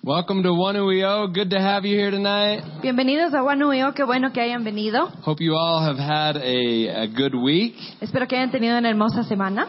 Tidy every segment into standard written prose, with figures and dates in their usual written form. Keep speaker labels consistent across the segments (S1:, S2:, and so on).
S1: Welcome to One UEO. Good to have you here tonight.
S2: Bienvenidos a One UEO, qué bueno que hayan venido.
S1: Hope you all have had a good week.
S2: Espero que hayan tenido una hermosa semana.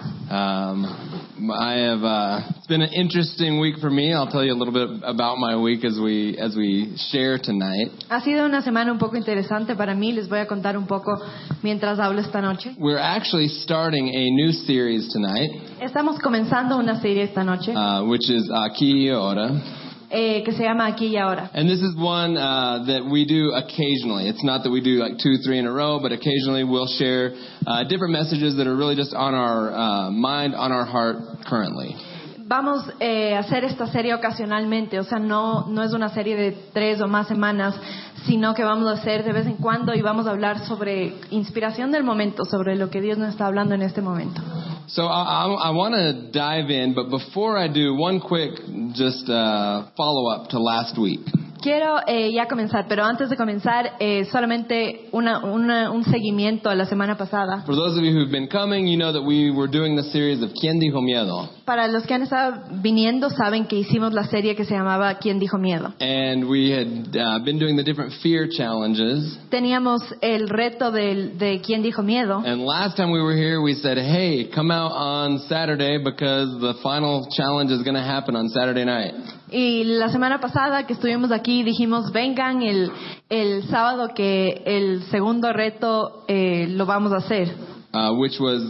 S1: It's been an interesting week for me. I'll tell you a little bit about my week as we share tonight.
S2: Ha sido una semana un poco interesante para mí. Les voy a contar un poco mientras hablo esta noche.
S1: We're actually starting a new series tonight.
S2: Estamos comenzando una serie esta noche.
S1: Which is Aquí y Ahora.
S2: Que se llama Aquí y Ahora.
S1: And this is one that we do occasionally. It's not that we do like 2, 3 in a row, but occasionally we'll share different messages that are really just on our mind, on our heart currently.
S2: Vamos a hacer esta serie ocasionalmente, o sea, no es una serie de 3 o más semanas, sino que vamos a hacer de vez en cuando y vamos a hablar sobre inspiración del momento, sobre lo que Dios nos está hablando en este momento.
S1: So I want to dive in, but before I do, one quick just follow-up to last week.
S2: Quiero ya comenzar, pero antes de comenzar, solamente un seguimiento a la semana pasada.
S1: For those of you who've been coming, you know that we were doing the series of ¿Quién dijo miedo?
S2: Para los que han estado viniendo, saben que hicimos la serie que se llamaba ¿Quién dijo miedo?
S1: And we had been doing the different fear challenges.
S2: Teníamos el reto de ¿Quién dijo miedo?
S1: And last time we were here, we said, hey, come out on Saturday because the final challenge is going to happen on Saturday night.
S2: Y la semana pasada que estuvimos aquí dijimos vengan el sábado que el segundo reto lo vamos a hacer.
S1: Which was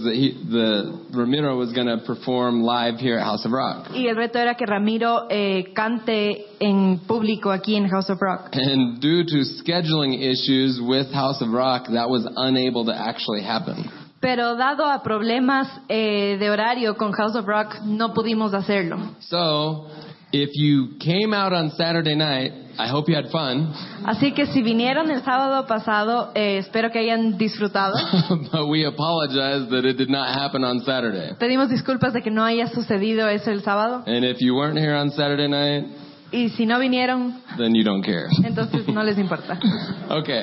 S1: Ramiro was going to perform live here at House of Rock.
S2: Y el reto era que Ramiro cante en público aquí en House of Rock.
S1: And due to scheduling issues with House of Rock, that was unable to actually happen.
S2: Pero dado a problemas de horario con House of Rock no pudimos hacerlo.
S1: So if you came out on Saturday night, I hope you had fun.
S2: Así que si vinieron el sábado pasado, espero que hayan disfrutado.
S1: But we apologize that it did not happen on Saturday.
S2: Pedimos disculpas de que no haya sucedido eso el sábado.
S1: And if you weren't here on Saturday night,
S2: y si no vinieron,
S1: then you don't care.
S2: Entonces no les importa.
S1: Okay.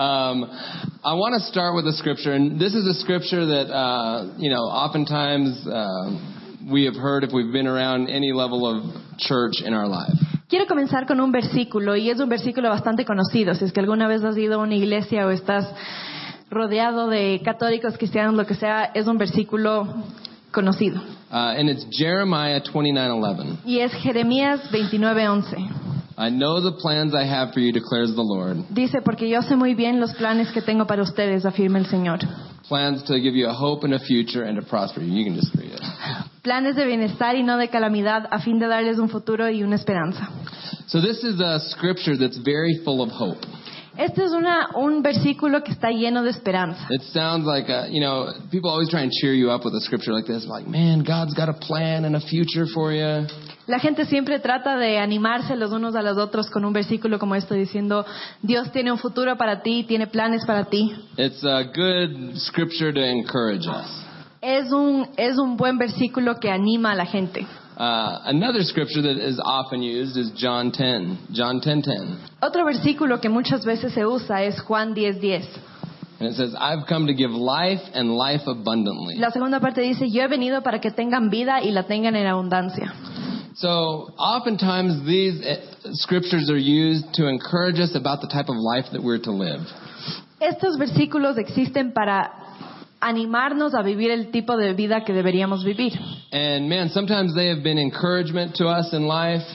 S1: I want to start with a scripture, and this is a scripture that oftentimes we have heard if we've been around any level of church in our life.
S2: Quiero comenzar con un versículo, y es un versículo bastante conocido. Si es que alguna vez has ido a una iglesia o estás rodeado de católicos, cristianos, lo que sea, es un versículo conocido.
S1: And it's Jeremiah 29:11.
S2: Y es Jeremías 29:11.
S1: I know the plans I have for you, declares the Lord.
S2: Dice, porque yo sé muy bien los planes que tengo para ustedes, afirma el Señor.
S1: Plans to give you a hope and a future and to prosper you. You can just read it.
S2: Planes de bienestar y no de calamidad, a fin de darles un futuro y una esperanza.
S1: So this is a scripture that's very full of hope.
S2: Este es un versículo que está lleno de esperanza.
S1: It sounds like, people always try and cheer you up with a scripture like this. Like, man, God's got a plan and a future for you.
S2: La gente siempre trata de animarse los unos a los otros con un versículo como esto diciendo, Dios tiene un futuro para ti, tiene planes para ti.
S1: It's a good scripture to encourage us.
S2: Es un buen versículo que anima a la gente.
S1: Another scripture that is often used is John 10:10.
S2: Otro versículo que muchas veces se usa es Juan 10:10.
S1: And it says, I've come to give life and life abundantly.
S2: La segunda parte dice, yo he venido para que tengan vida y la tengan en abundancia.
S1: So oftentimes these scriptures are used to encourage us about the type of life that we're to live.
S2: Estos versículos existen para animarnos a vivir el tipo de vida que deberíamos vivir.
S1: And man, sometimes they have been encouragement to us in life.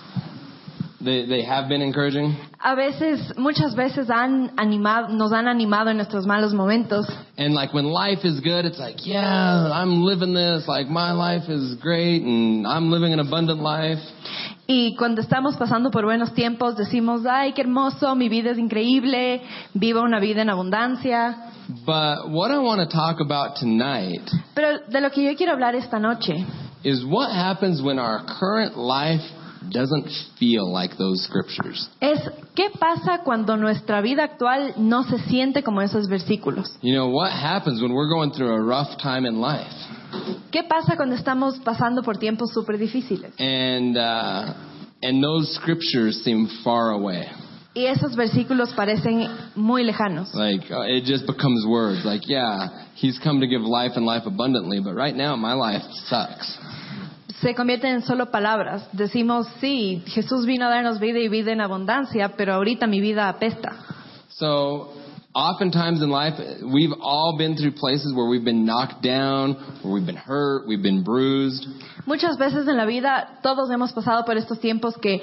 S1: They have been encouraging.
S2: Muchas veces nos han animado en nuestros malos momentos.
S1: And like when life is good, it's like, yeah, I'm living this. Like my life is great and I'm living an abundant life.
S2: Y cuando estamos pasando por buenos tiempos, decimos, ay, qué hermoso, mi vida es increíble, vivo una vida en abundancia.
S1: But what I want to talk about tonight,
S2: pero de lo que yo quiero hablar esta noche,
S1: is what happens when our current life doesn't feel like those scriptures.
S2: Es qué pasa cuando nuestra vida actual no se siente como esos versículos.
S1: You know, what happens when we're going through a rough time in life?
S2: ¿Qué pasa cuando estamos pasando por tiempos súper difíciles?
S1: And those scriptures seem far away.
S2: Y esos versículos parecen muy lejanos.
S1: Like, it just becomes words. Like, yeah, he's come to give life and life abundantly, but right now my life sucks.
S2: se convierten en solo palabras. Decimos, sí, Jesús vino a darnos vida y vida en abundancia, pero ahorita mi vida apesta.
S1: So oftentimes in life, we've all been through places where we've been knocked down, where we've been hurt, we've been bruised.
S2: Muchas veces en la vida todos hemos pasado por estos tiempos que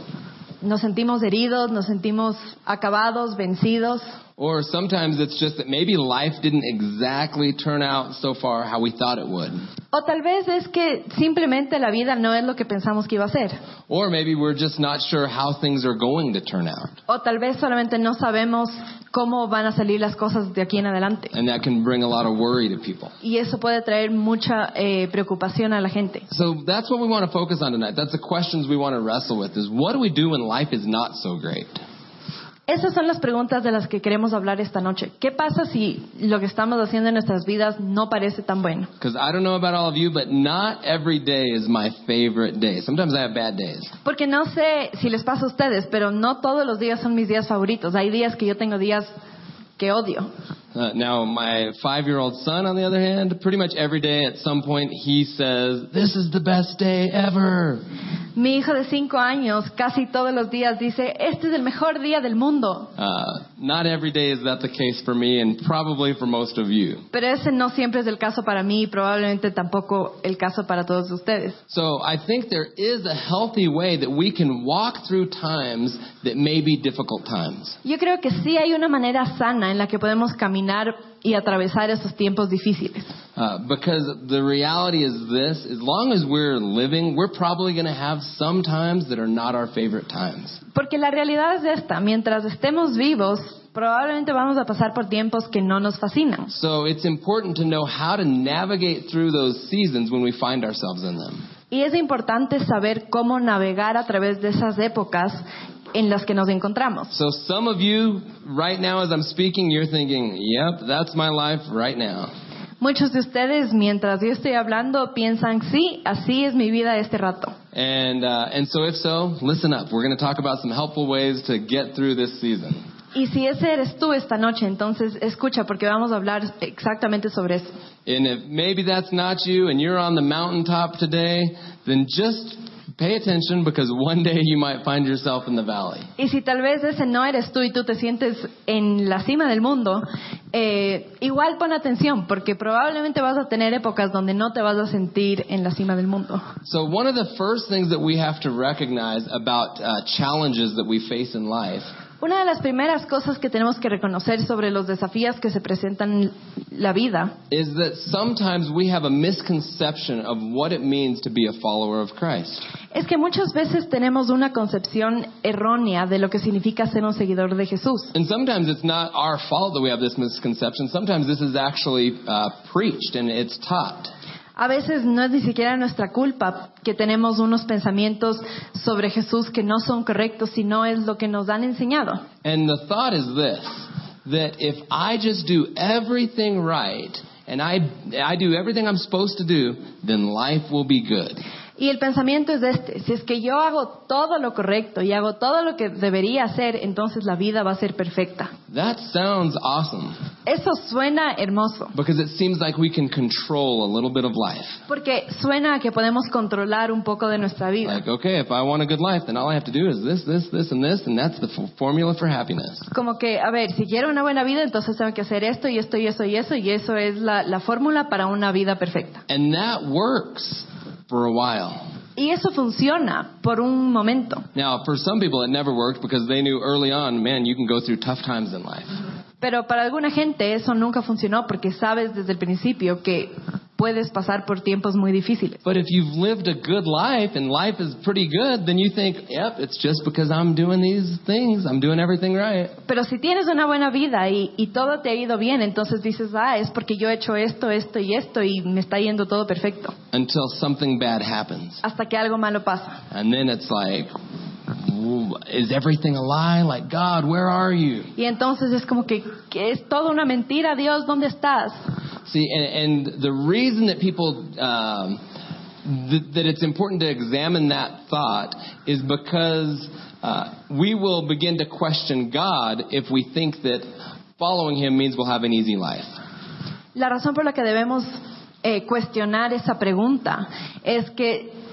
S2: nos sentimos heridos, nos sentimos acabados, vencidos.
S1: Or sometimes it's just that maybe life didn't exactly turn out so far how we thought it would.
S2: O tal vez es que simplemente la vida no es lo que pensamos que iba a ser.
S1: Or maybe we're just not sure how things are going to turn out.
S2: O tal vez solamente no sabemos cómo van a salir las cosas de aquí en adelante.
S1: And that can bring a lot of worry to people.
S2: Y eso puede traer mucha preocupación a la gente.
S1: So that's what we want to focus on tonight. That's the questions we want to wrestle with is what do we do when life is not so great?
S2: Esas son las preguntas de las que queremos hablar esta noche. ¿Qué pasa si lo que estamos haciendo en nuestras vidas no parece tan bueno?
S1: Because I don't know about all of you, but not every day is my favorite day. Sometimes I have bad days.
S2: Porque no sé si les pasa a ustedes, pero no todos los días son mis días favoritos. Hay días que yo tengo días que odio.
S1: Now, my 5-year-old son, on the other hand, pretty much every day at some point he says, "This is the best day ever."
S2: Mi hijo de 5 años casi todos los días dice, este es el mejor día del mundo.
S1: Not every day is that the case for me and probably for most of you.
S2: Pero ese no siempre es el caso para mí y probablemente tampoco el caso para todos ustedes.
S1: So I think there is a healthy way that we can walk through times that may be difficult times.
S2: Yo creo que sí hay una manera sana en la que podemos caminar y atravesar esos tiempos difíciles.
S1: Because the reality is this, as long as we're living, we're probably going to have some times that are not our favorite times.
S2: Porque la realidad es esta, mientras estemos vivos, probablemente vamos a pasar por tiempos que no nos fascinan.
S1: So it's important to know how to navigate through those seasons when we find ourselves in them.
S2: Y es importante saber cómo navegar a través de esas épocas en las que nos encontramos.
S1: So some of you, right now as I'm speaking, you're thinking, yep, that's my life right now.
S2: Muchos de ustedes, mientras yo estoy hablando, piensan, sí, así es mi vida este rato.
S1: And so if so, listen up. We're going to talk about some helpful ways to get through this season.
S2: Y si ese eres tú esta noche, entonces escucha, porque vamos a hablar exactamente sobre eso.
S1: And if maybe that's not you and you're on the mountaintop today, then just pay attention because one day you might find yourself in the valley.
S2: Y si tal vez ese no eres tú y tú te sientes en la cima del mundo, igual pon atención porque probablemente vas a tener épocas donde no te vas a sentir en la cima del mundo.
S1: So one of the first things that we have to recognize about challenges that we face in life
S2: Una de las primeras cosas que tenemos que reconocer sobre los desafíos que se presentan en la vida
S1: is that sometimes we have a misconception of what it means to be a follower of Christ.
S2: es que muchas veces tenemos una concepción errónea de lo que significa ser un seguidor de Jesús.
S1: And sometimes it's not our fault that we have this misconception. Sometimes this is actually preached and it's taught.
S2: A veces no es ni siquiera nuestra culpa que tenemos unos pensamientos sobre Jesús que no son correctos, sino es lo que nos han enseñado.
S1: And the thought is this, that if I just do everything right and I do everything I'm supposed to do, then life will be good.
S2: Y el pensamiento es este, si es que yo hago todo lo correcto y hago todo lo que debería hacer, entonces la vida va a ser perfecta.
S1: That sounds awesome.
S2: Eso suena hermoso,
S1: Because it seems like we can control a little bit of life.
S2: porque suena a que podemos controlar un poco de nuestra vida.
S1: Like, okay, if I want a good life, then all I have to do is this, and this, and that's the formula for happiness.
S2: Como que, a ver, si quiero una buena vida, entonces tengo que hacer esto y esto y eso y eso, y eso es la fórmula para una vida perfecta.
S1: And that works for a while.
S2: Y eso funciona por un momento.
S1: Now, for some people it never worked because they knew early on, man, you can go through tough times in life.
S2: Pero para alguna gente eso nunca funcionó porque sabes desde el principio que puedes pasar por tiempos muy difíciles.
S1: But if you've lived a good life and life is pretty good, then you think, yep, it's just because I'm doing these things. I'm doing everything right.
S2: Pero si tienes una buena vida y todo te ha ido bien, entonces dices, es porque yo he hecho esto, esto y esto y me está yendo todo perfecto.
S1: Until something bad happens.
S2: Hasta que algo malo pasa.
S1: And then it's like, is everything a lie? Like, God, where are you?
S2: Y entonces es como que es todo una mentira. Dios, ¿dónde estás?
S1: See, and the reason that people, that it's important to examine that thought is because we will begin to question God if we think that following Him means we'll have an easy life.
S2: La razón por la que debemos cuestionar esa pregunta es que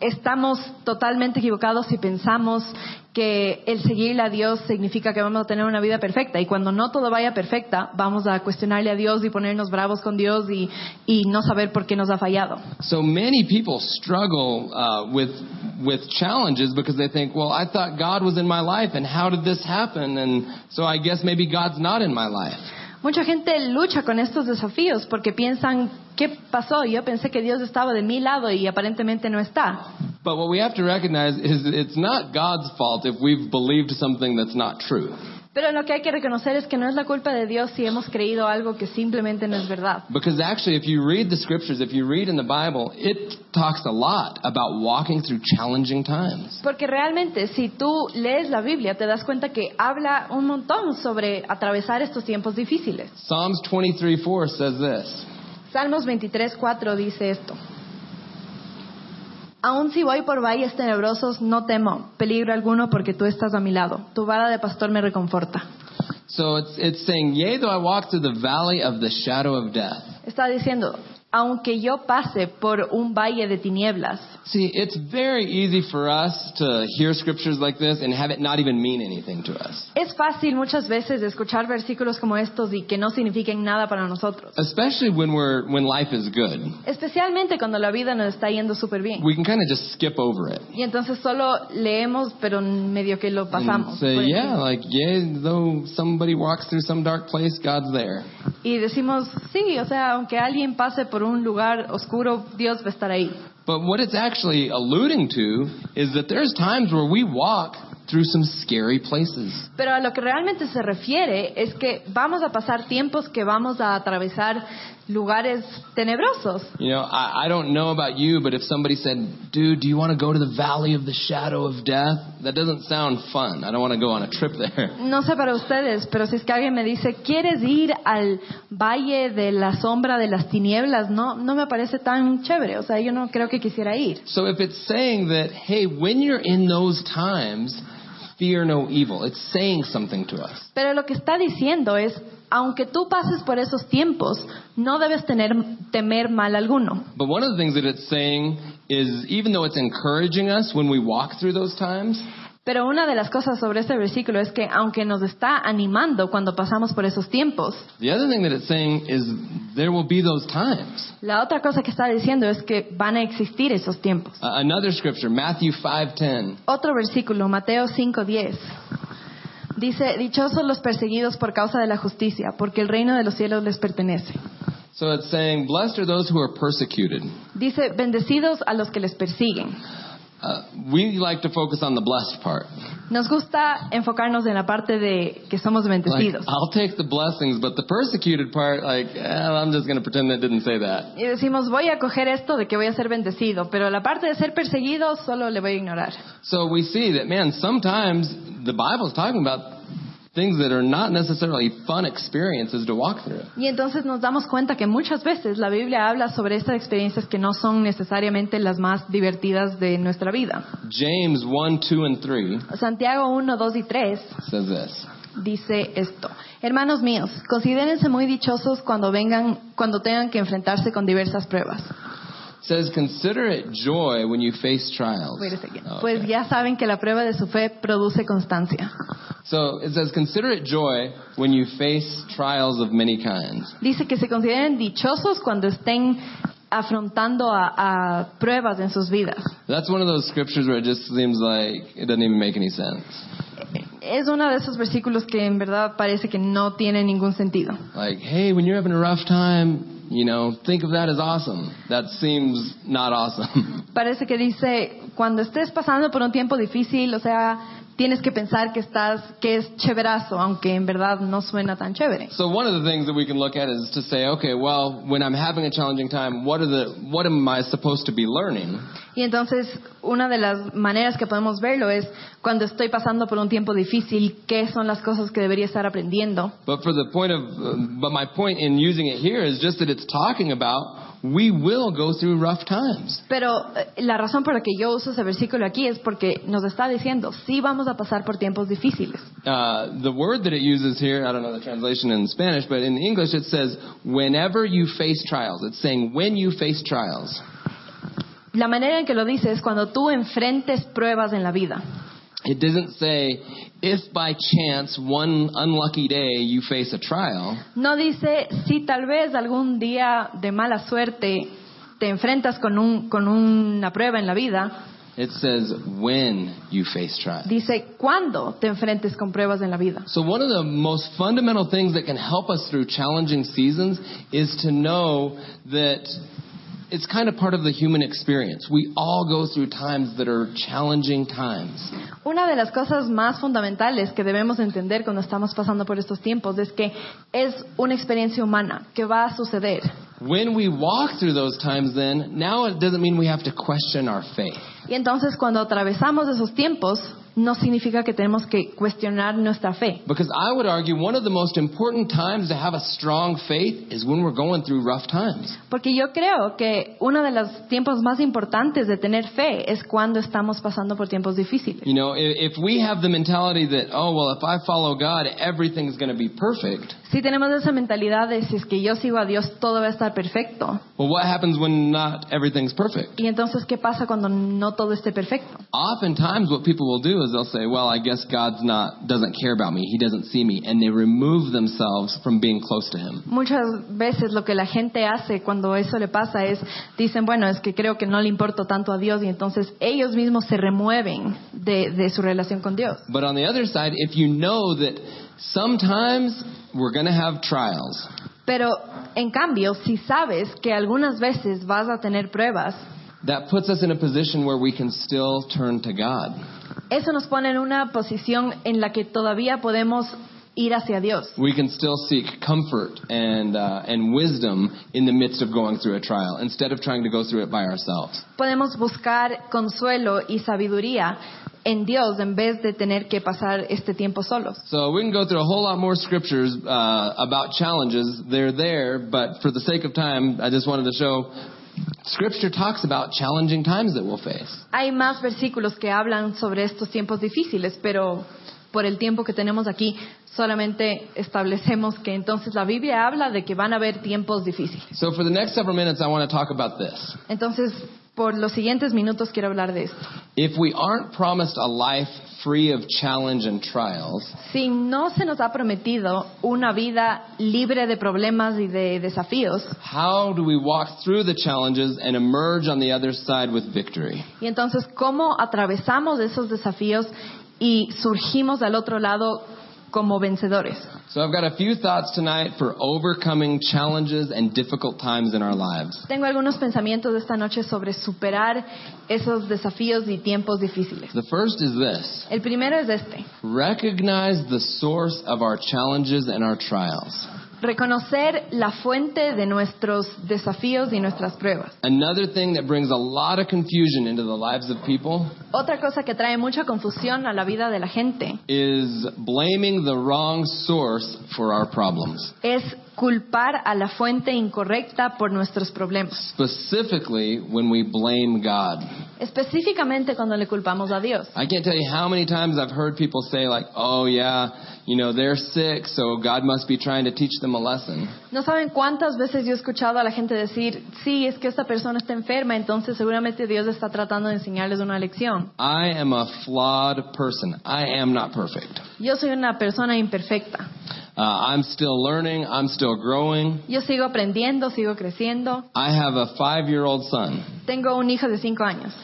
S2: estamos totalmente equivocados si pensamos que el seguirle a Dios significa que vamos a tener una vida perfecta. Y cuando no todo vaya perfecta, vamos a cuestionarle a Dios y ponernos bravos con Dios y no saber por qué nos ha fallado.
S1: So many people struggle with challenges because they think, well, I thought God was in my life, and how did this happen? And so I guess maybe God's not in my life.
S2: Mucha gente lucha con estos desafíos porque piensan, ¿qué pasó? Yo pensé que Dios estaba de mi lado y aparentemente no está.
S1: But what we have to recognize is it's not God's fault if we've believed something that's not true.
S2: Pero lo que hay que reconocer es que no es la culpa de Dios si hemos creído algo que simplemente no es verdad.
S1: Because actually, if you read the scriptures, if you read in the Bible, it talks a lot about walking through challenging times.
S2: Porque realmente, si tú lees la Biblia, te das cuenta que habla un montón sobre atravesar estos tiempos difíciles.
S1: Psalms 23:4 says this.
S2: Salmos 23:4 dice esto. Aun si voy por valles tenebrosos, no temo peligro alguno porque tú estás a mi lado. Tu vara de pastor me reconforta.
S1: So it's saying, yea, though I walk through the valley of the shadow of death.
S2: Está diciendo, aunque yo pase por un valle de tinieblas.
S1: See, it's very easy for us to hear scriptures like this and have it not even mean anything to us.
S2: Es fácil muchas veces escuchar versículos como estos y que no signifiquen nada para nosotros.
S1: Especially when life is good.
S2: Especialmente cuando la vida nos está yendo súper bien.
S1: We can kind of just skip over it.
S2: Y entonces solo leemos, pero medio que lo pasamos.
S1: And say, yeah, like, yea, though somebody walks through some dark place, God's there.
S2: Y decimos, sí, o sea, aunque alguien pase por un lugar oscuro, Dios va a estar ahí.
S1: But what it's actually alluding to is that there's times where we walk through some scary places.
S2: Pero a lo que realmente se refiere es que vamos a pasar tiempos que vamos a atravesar lugares tenebrosos.
S1: You know, I don't know about you, but if somebody said, dude, do you want to go to the valley of the shadow of death? That doesn't sound fun. I don't want to go on a trip there.
S2: No sé para ustedes, pero si es que alguien me dice, ¿quieres ir al valle de la sombra de las tinieblas? No me parece tan chévere. O sea, yo no creo que quisiera ir.
S1: So if it's saying that, hey, when you're in those times, fear no evil, it's saying something to us.
S2: Pero lo que está diciendo es, aunque tú pases por esos tiempos, no debes temer mal alguno.
S1: But one of the things that it's saying is, even though it's encouraging us when we walk through those times,
S2: pero una de las cosas sobre este versículo es que aunque nos está animando cuando pasamos por esos tiempos,
S1: the other thing that it's saying is there will be those times.
S2: La otra cosa que está diciendo es que van a existir esos tiempos.
S1: Another scripture, Matthew 5:10.
S2: Otro versículo, Mateo 5:10. Dice, dichosos los perseguidos por causa de la justicia, porque el reino de los cielos les pertenece.
S1: So it's saying, blessed are those who are persecuted.
S2: Dice, bendecidos a los que les persiguen.
S1: We like to focus on the blessed part.
S2: Nos gusta enfocarnos en la parte de que somos bendecidos.
S1: Like, I'll take the blessings, but the persecuted part, I'm just going to pretend that didn't say that.
S2: Y decimos, voy a coger esto de que voy a ser bendecido, pero la parte de ser perseguido solo le voy a ignorar.
S1: So we see that, man, sometimes the Bible's talking about things that are not necessarily fun experiences to walk through.
S2: Y entonces nos damos cuenta que muchas veces la Biblia habla sobre estas experiencias que no son necesariamente las más divertidas de nuestra vida.
S1: James 1, 2, and 3
S2: Santiago 1, 2 y 3
S1: says this.
S2: dice esto: hermanos míos, considérense muy dichosos cuando tengan que enfrentarse con diversas pruebas.
S1: It says, consider it joy when you face trials.
S2: Wait a second.
S1: Oh, okay.
S2: Pues ya saben que la prueba de su fe produce constancia.
S1: So it says, consider it joy when you face trials of many kinds.
S2: Dice que se consideren dichosos cuando estén afrontando a pruebas en sus vidas.
S1: That's one of those scriptures where it just seems like it doesn't even make any sense.
S2: Es uno de esos versículos que en verdad parece que no tiene ningún sentido.
S1: Like, hey, when you're having a rough time, think of that as awesome. That seems not awesome.
S2: Parece que dice, cuando estés pasando por un tiempo difícil, o sea, tienes que pensar que es chéverazo, aunque en verdad no suena tan chévere.
S1: So one of the things that we can look at is to say, okay, well, when I'm having a challenging time, what am I supposed to be learning?
S2: Y entonces, una de las maneras que podemos verlo es cuando estoy pasando por un tiempo difícil, ¿qué son las cosas que debería estar aprendiendo?
S1: But my point in using it here is just that it's talking about we will go through rough times.
S2: Pero la razón por la que yo uso ese versículo aquí es porque nos está diciendo, sí vamos a pasar por tiempos difíciles.
S1: The word that it uses here, I don't know the translation in Spanish, but in English it says, whenever you face trials. It's saying when you face trials.
S2: la manera en que lo dice es cuando tú enfrentes pruebas en la vida.
S1: It doesn't say, if by chance one unlucky day you face a trial.
S2: No dice si tal vez algún día de mala suerte te enfrentas con una prueba en la vida.
S1: It says when you face trials.
S2: Dice cuando te enfrentes con pruebas en la vida.
S1: So one of the most fundamental things that can help us through challenging seasons is to know that it's kind of part of the human experience. We all go through times that are challenging times.
S2: Una de las cosas más fundamentales que debemos entender cuando estamos pasando por estos tiempos es que es una experiencia humana que va a suceder.
S1: When we walk through those times, then, now it doesn't mean we have to question our faith.
S2: Y entonces cuando atravesamos esos tiempos, no significa que tenemos que cuestionar nuestra fe.
S1: Because I would argue one of the most important times to have a strong faith is when we're going through rough times.
S2: Porque yo creo que uno de los tiempos más importantes de tener fe es cuando estamos pasando por tiempos difíciles.
S1: You know, if we have the mentality that, oh, well, if I follow God, everything's going to be perfect.
S2: Si tenemos esa mentalidad de si es que yo sigo a Dios, todo va a estar perfecto.
S1: Well, what happens when not everything's perfect?
S2: Y entonces, ¿qué pasa cuando no todo esté perfecto?
S1: Oftentimes what people will do is they'll say, well, I guess God's doesn't care about me. He doesn't see me. And they remove themselves from being close to Him.
S2: Muchas veces lo que la gente hace cuando eso le pasa es, dicen, bueno, es que creo que no le importo tanto a Dios y entonces ellos mismos se remueven de su relación con Dios.
S1: But on the other side, if you know that sometimes we're going to have trials.
S2: Pero, en cambio, si sabes que algunas veces vas a tener pruebas,
S1: that puts us in a position where we can still turn to God.
S2: Eso nos pone en una posición en la que todavía podemos ir hacia Dios.
S1: We can still seek comfort and wisdom in the midst of going through a trial instead of trying to go through it by ourselves.
S2: Podemos buscar consuelo y sabiduría en Dios en vez de tener que pasar este tiempo solos.
S1: So we can go through a whole lot more scriptures about challenges. They're there, but for the sake of time, I just wanted to show Scripture talks about challenging times that we'll face.
S2: Hay más versículos que hablan sobre estos tiempos difíciles, pero por el tiempo que tenemos aquí, solamente establecemos que entonces la Biblia habla de que van a haber tiempos difíciles.
S1: So for the next several minutes, I want to talk about this.
S2: Entonces, por los siguientes minutos quiero hablar de esto.
S1: If we aren't promised a life free of challenge and trials,
S2: si no se nos ha prometido una vida libre de problemas y de desafíos,
S1: how do we walk through the challenges and emerge on the other side with victory?
S2: Y entonces, ¿cómo atravesamos esos desafíos y surgimos al otro lado como vencedores?
S1: So I've got a few thoughts tonight for overcoming challenges and difficult times in our lives.
S2: Tengo algunos pensamientos esta noche sobre superar esos desafíos y tiempos difíciles.
S1: The first is this.
S2: El primero es este.
S1: Recognize the source of our challenges and our trials.
S2: Reconocer la fuente de nuestros desafíos y nuestras pruebas.
S1: Another thing that brings a lot of confusion into the lives of people
S2: Otra cosa que trae mucha confusión a la vida de la gente
S1: is blaming the wrong source for our problems.
S2: es culpar a la fuente incorrecta por nuestros problemas.
S1: Specifically when we blame God.
S2: Específicamente cuando le culpamos a Dios.
S1: I can't tell you how many times I've heard people say like, oh yeah, you know, they're sick, so God must be trying to teach them a lesson.
S2: No saben cuántas veces yo he escuchado a la gente decir, sí, es que esta persona está enferma, entonces seguramente Dios está tratando de enseñarles una lección.
S1: I am a flawed person. I am not perfect.
S2: Yo soy una persona imperfecta.
S1: I'm still learning. I'm still growing.
S2: Yo sigo aprendiendo, sigo creciendo.
S1: I have a 5-year-old son.
S2: Tengo un hijo de 5 años.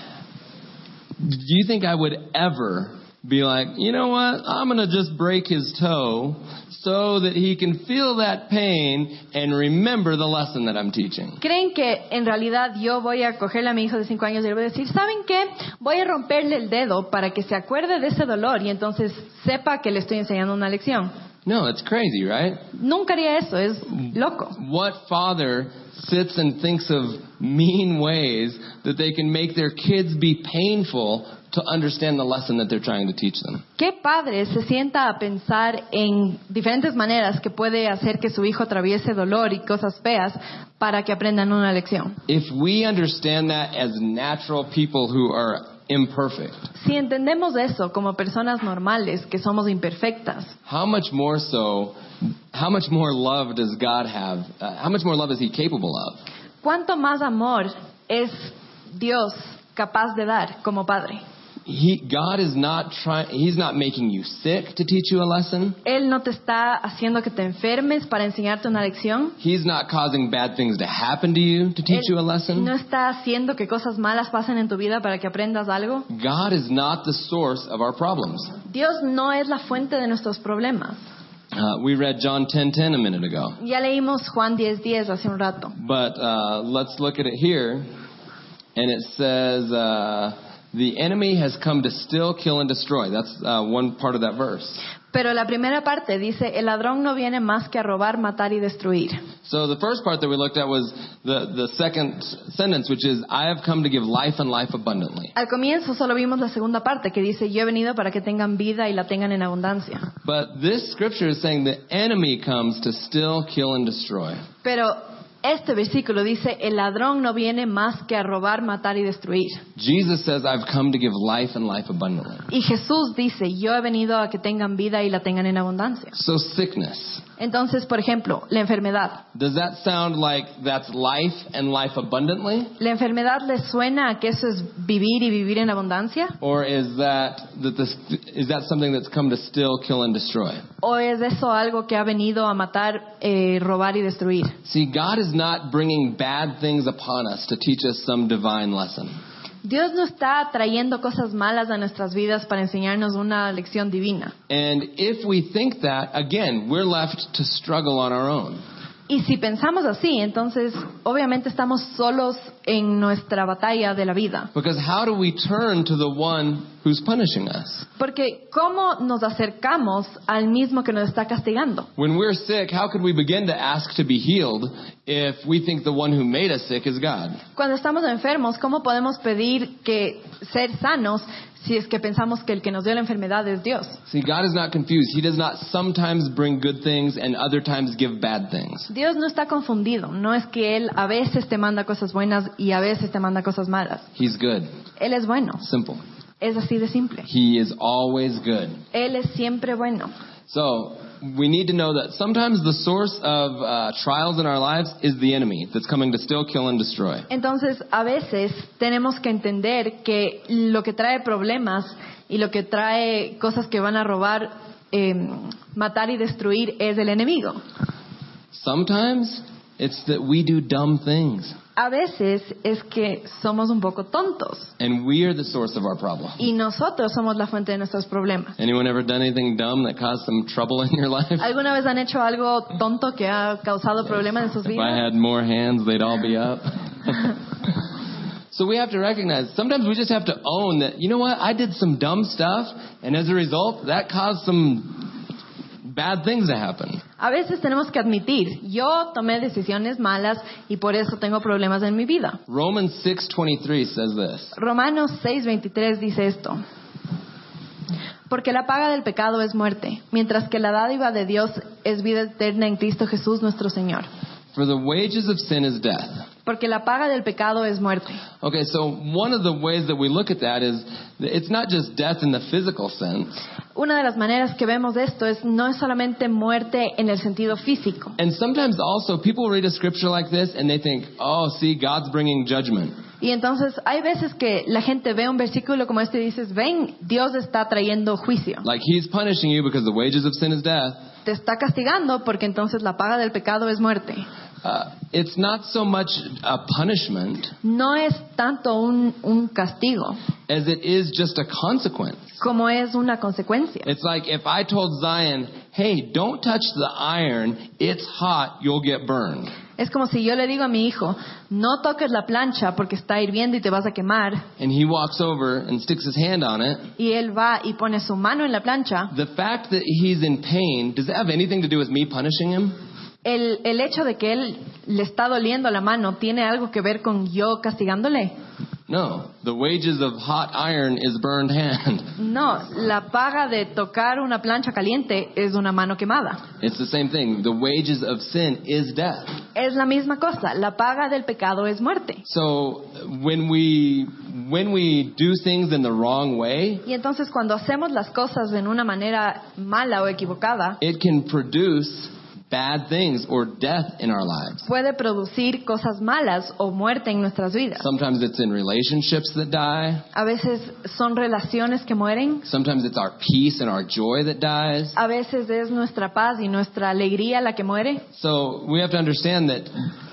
S1: Do you think I would ever be like, you know what, I'm going to just break his toe so that he can feel that pain and remember the lesson that I'm teaching?
S2: ¿Creen que en realidad yo voy a cogerle a mi hijo de 5 años y le voy a decir, ¿saben qué? Voy a romperle el dedo para que se acuerde de ese dolor y entonces sepa que le estoy enseñando una lección?
S1: No, it's crazy, right?
S2: Nunca haría eso, es loco.
S1: What father sits and thinks of mean ways that they can make their kids be painful to understand the lesson that they're trying to teach them?
S2: ¿Qué padre se sienta a pensar en diferentes maneras que puede hacer que su hijo atraviese dolor y cosas feas para que aprendan una lección?
S1: If we understand that as natural people who are imperfect,
S2: Si entendemos eso como personas normales que somos imperfectas,
S1: how much more love does God have? How much more love is He capable of?
S2: ¿cuánto más amor es Dios capaz de dar como padre.
S1: God is not He's not making you sick to teach you a lesson.
S2: Él no te está haciendo que te enfermes para enseñarte una lección.
S1: He's not causing bad things to happen to you to teach you a lesson.
S2: No está haciendo que cosas malas pasen en tu vida para que aprendas algo.
S1: God is not the source of our problems.
S2: Dios no es la fuente de nuestros problemas.
S1: We read John 10:10 a minute ago.
S2: Ya leímos Juan 10:10 hace un rato.
S1: But let's look at it here. And it says, the enemy has come to steal, kill, and destroy. That's one part of that verse.
S2: Pero la primera parte dice, el ladrón no viene más que a robar, matar y destruir.
S1: So the first part that we looked at was the second sentence, which is, I have come to give life and life abundantly.
S2: Al comienzo solo vimos la segunda parte que dice, yo he venido para que tengan vida y la tengan en abundancia.
S1: But this scripture is saying the enemy comes to steal, kill, and destroy.
S2: Pero este versículo dice, el ladrón no viene más que a robar, matar y destruir.
S1: Jesus says, I've come to give life and life abundantly.
S2: Y Jesús dice, yo he venido a que tengan vida y la tengan en abundancia.
S1: So sickness.
S2: Entonces, por ejemplo, la enfermedad.
S1: Does that sound like that's life and life abundantly?
S2: ¿La enfermedad le suena a que eso es vivir y vivir en abundancia?
S1: Or is that something that's come to steal, kill, and destroy?
S2: ¿O es eso algo que ha venido a matar, robar y destruir?
S1: See, God is not bringing bad things upon us to teach us some divine lesson.
S2: Dios no está trayendo cosas malas a nuestras vidas para enseñarnos una lección divina.
S1: And if we think that, again, we're left to struggle on our own.
S2: Y si pensamos así, entonces obviamente estamos solos en nuestra batalla de la vida.
S1: Because how do we turn to the one who's punishing us?
S2: Porque ¿cómo nos acercamos al mismo que nos está castigando?
S1: When we're sick, how could we begin to ask to be healed if we think the one who made us sick is God?
S2: Cuando estamos enfermos, ¿cómo podemos pedir que ser sanos si es que pensamos que el que nos dio la enfermedad es Dios?
S1: See, God is not confused. He does not sometimes bring good things and other times give bad things.
S2: Dios no está confundido. No es que Él a veces te manda cosas buenas y a veces te manda cosas malas.
S1: He's good.
S2: Él es bueno.
S1: Simple.
S2: Es así de simple.
S1: He is always good.
S2: Él es siempre bueno.
S1: So, we need to know that sometimes the source of trials in our lives is the enemy that's coming to steal, kill, and destroy.
S2: Entonces, a veces tenemos que entender que lo que trae problemas y lo que trae cosas que van a robar, matar y destruir es el enemigo.
S1: Sometimes it's that we do dumb things.
S2: A veces es que somos un poco tontos.
S1: And we are the source of our problem.
S2: Y nosotros somos la fuente de nuestros problemas.
S1: Anyone ever done anything dumb that caused some trouble in your life?
S2: ¿Alguna vez han hecho algo tonto que ha causado problemas en sus
S1: If I
S2: vidas?
S1: had more hands, they'd all be up. So we have to recognize, sometimes we just have to own that, you know what, I did some dumb stuff, and as a result, that caused some bad things to happen.
S2: A veces tenemos que admitir, yo tomé decisiones malas y por eso tengo problemas en mi vida.
S1: Romans 6:23 says this.
S2: Romanos 6:23 dice esto. Porque la paga del pecado es muerte, mientras que la dádiva de Dios es vida eterna en Cristo Jesús nuestro Señor.
S1: For the wages of sin is death.
S2: Porque la paga del pecado es muerte.
S1: Okay, so one of the ways that we look at that is, it's not just death in the physical sense.
S2: Una de las maneras que vemos esto es no es solamente muerte en el sentido físico.
S1: And sometimes also people read a scripture like this and they think, oh, see, God's bringing judgment.
S2: Y entonces hay veces que la gente ve un versículo como este y dices, ven, Dios está trayendo juicio.
S1: Like he's punishing you because the wages of sin is death.
S2: Te está castigando porque entonces la paga del pecado es muerte.
S1: It's not so much a punishment
S2: No es tanto un castigo
S1: as it is just a consequence.
S2: como es una consecuencia.
S1: It's like if I told Zion, hey, don't touch the iron, it's hot, you'll get burned.
S2: Es como si yo le digo a mi hijo, no toques la plancha porque está hirviendo y te vas a quemar.
S1: And he walks over and sticks his hand on it.
S2: Y él va y pone su mano en la plancha.
S1: The fact that he's in pain, does that have anything to do with me punishing him?
S2: El hecho de que él le está doliendo la mano, ¿tiene algo que ver con yo castigándole?
S1: No. The wages of hot iron is burned hand.
S2: No, la paga de tocar una plancha caliente es una mano quemada.
S1: It's the same thing. The wages of sin is death.
S2: Es la misma cosa, la paga del pecado es muerte.
S1: So when we do things in the wrong way,
S2: Y entonces cuando hacemos las cosas en una manera mala o equivocada,
S1: it can produce bad things or death in our lives.
S2: Puede producir cosas malas o muerte en nuestras vidas.
S1: Sometimes it's in relationships that die.
S2: A veces son relaciones que mueren.
S1: Sometimes it's our peace and our joy that dies.
S2: A veces es nuestra paz y nuestra alegría la que muere.
S1: So we have to understand that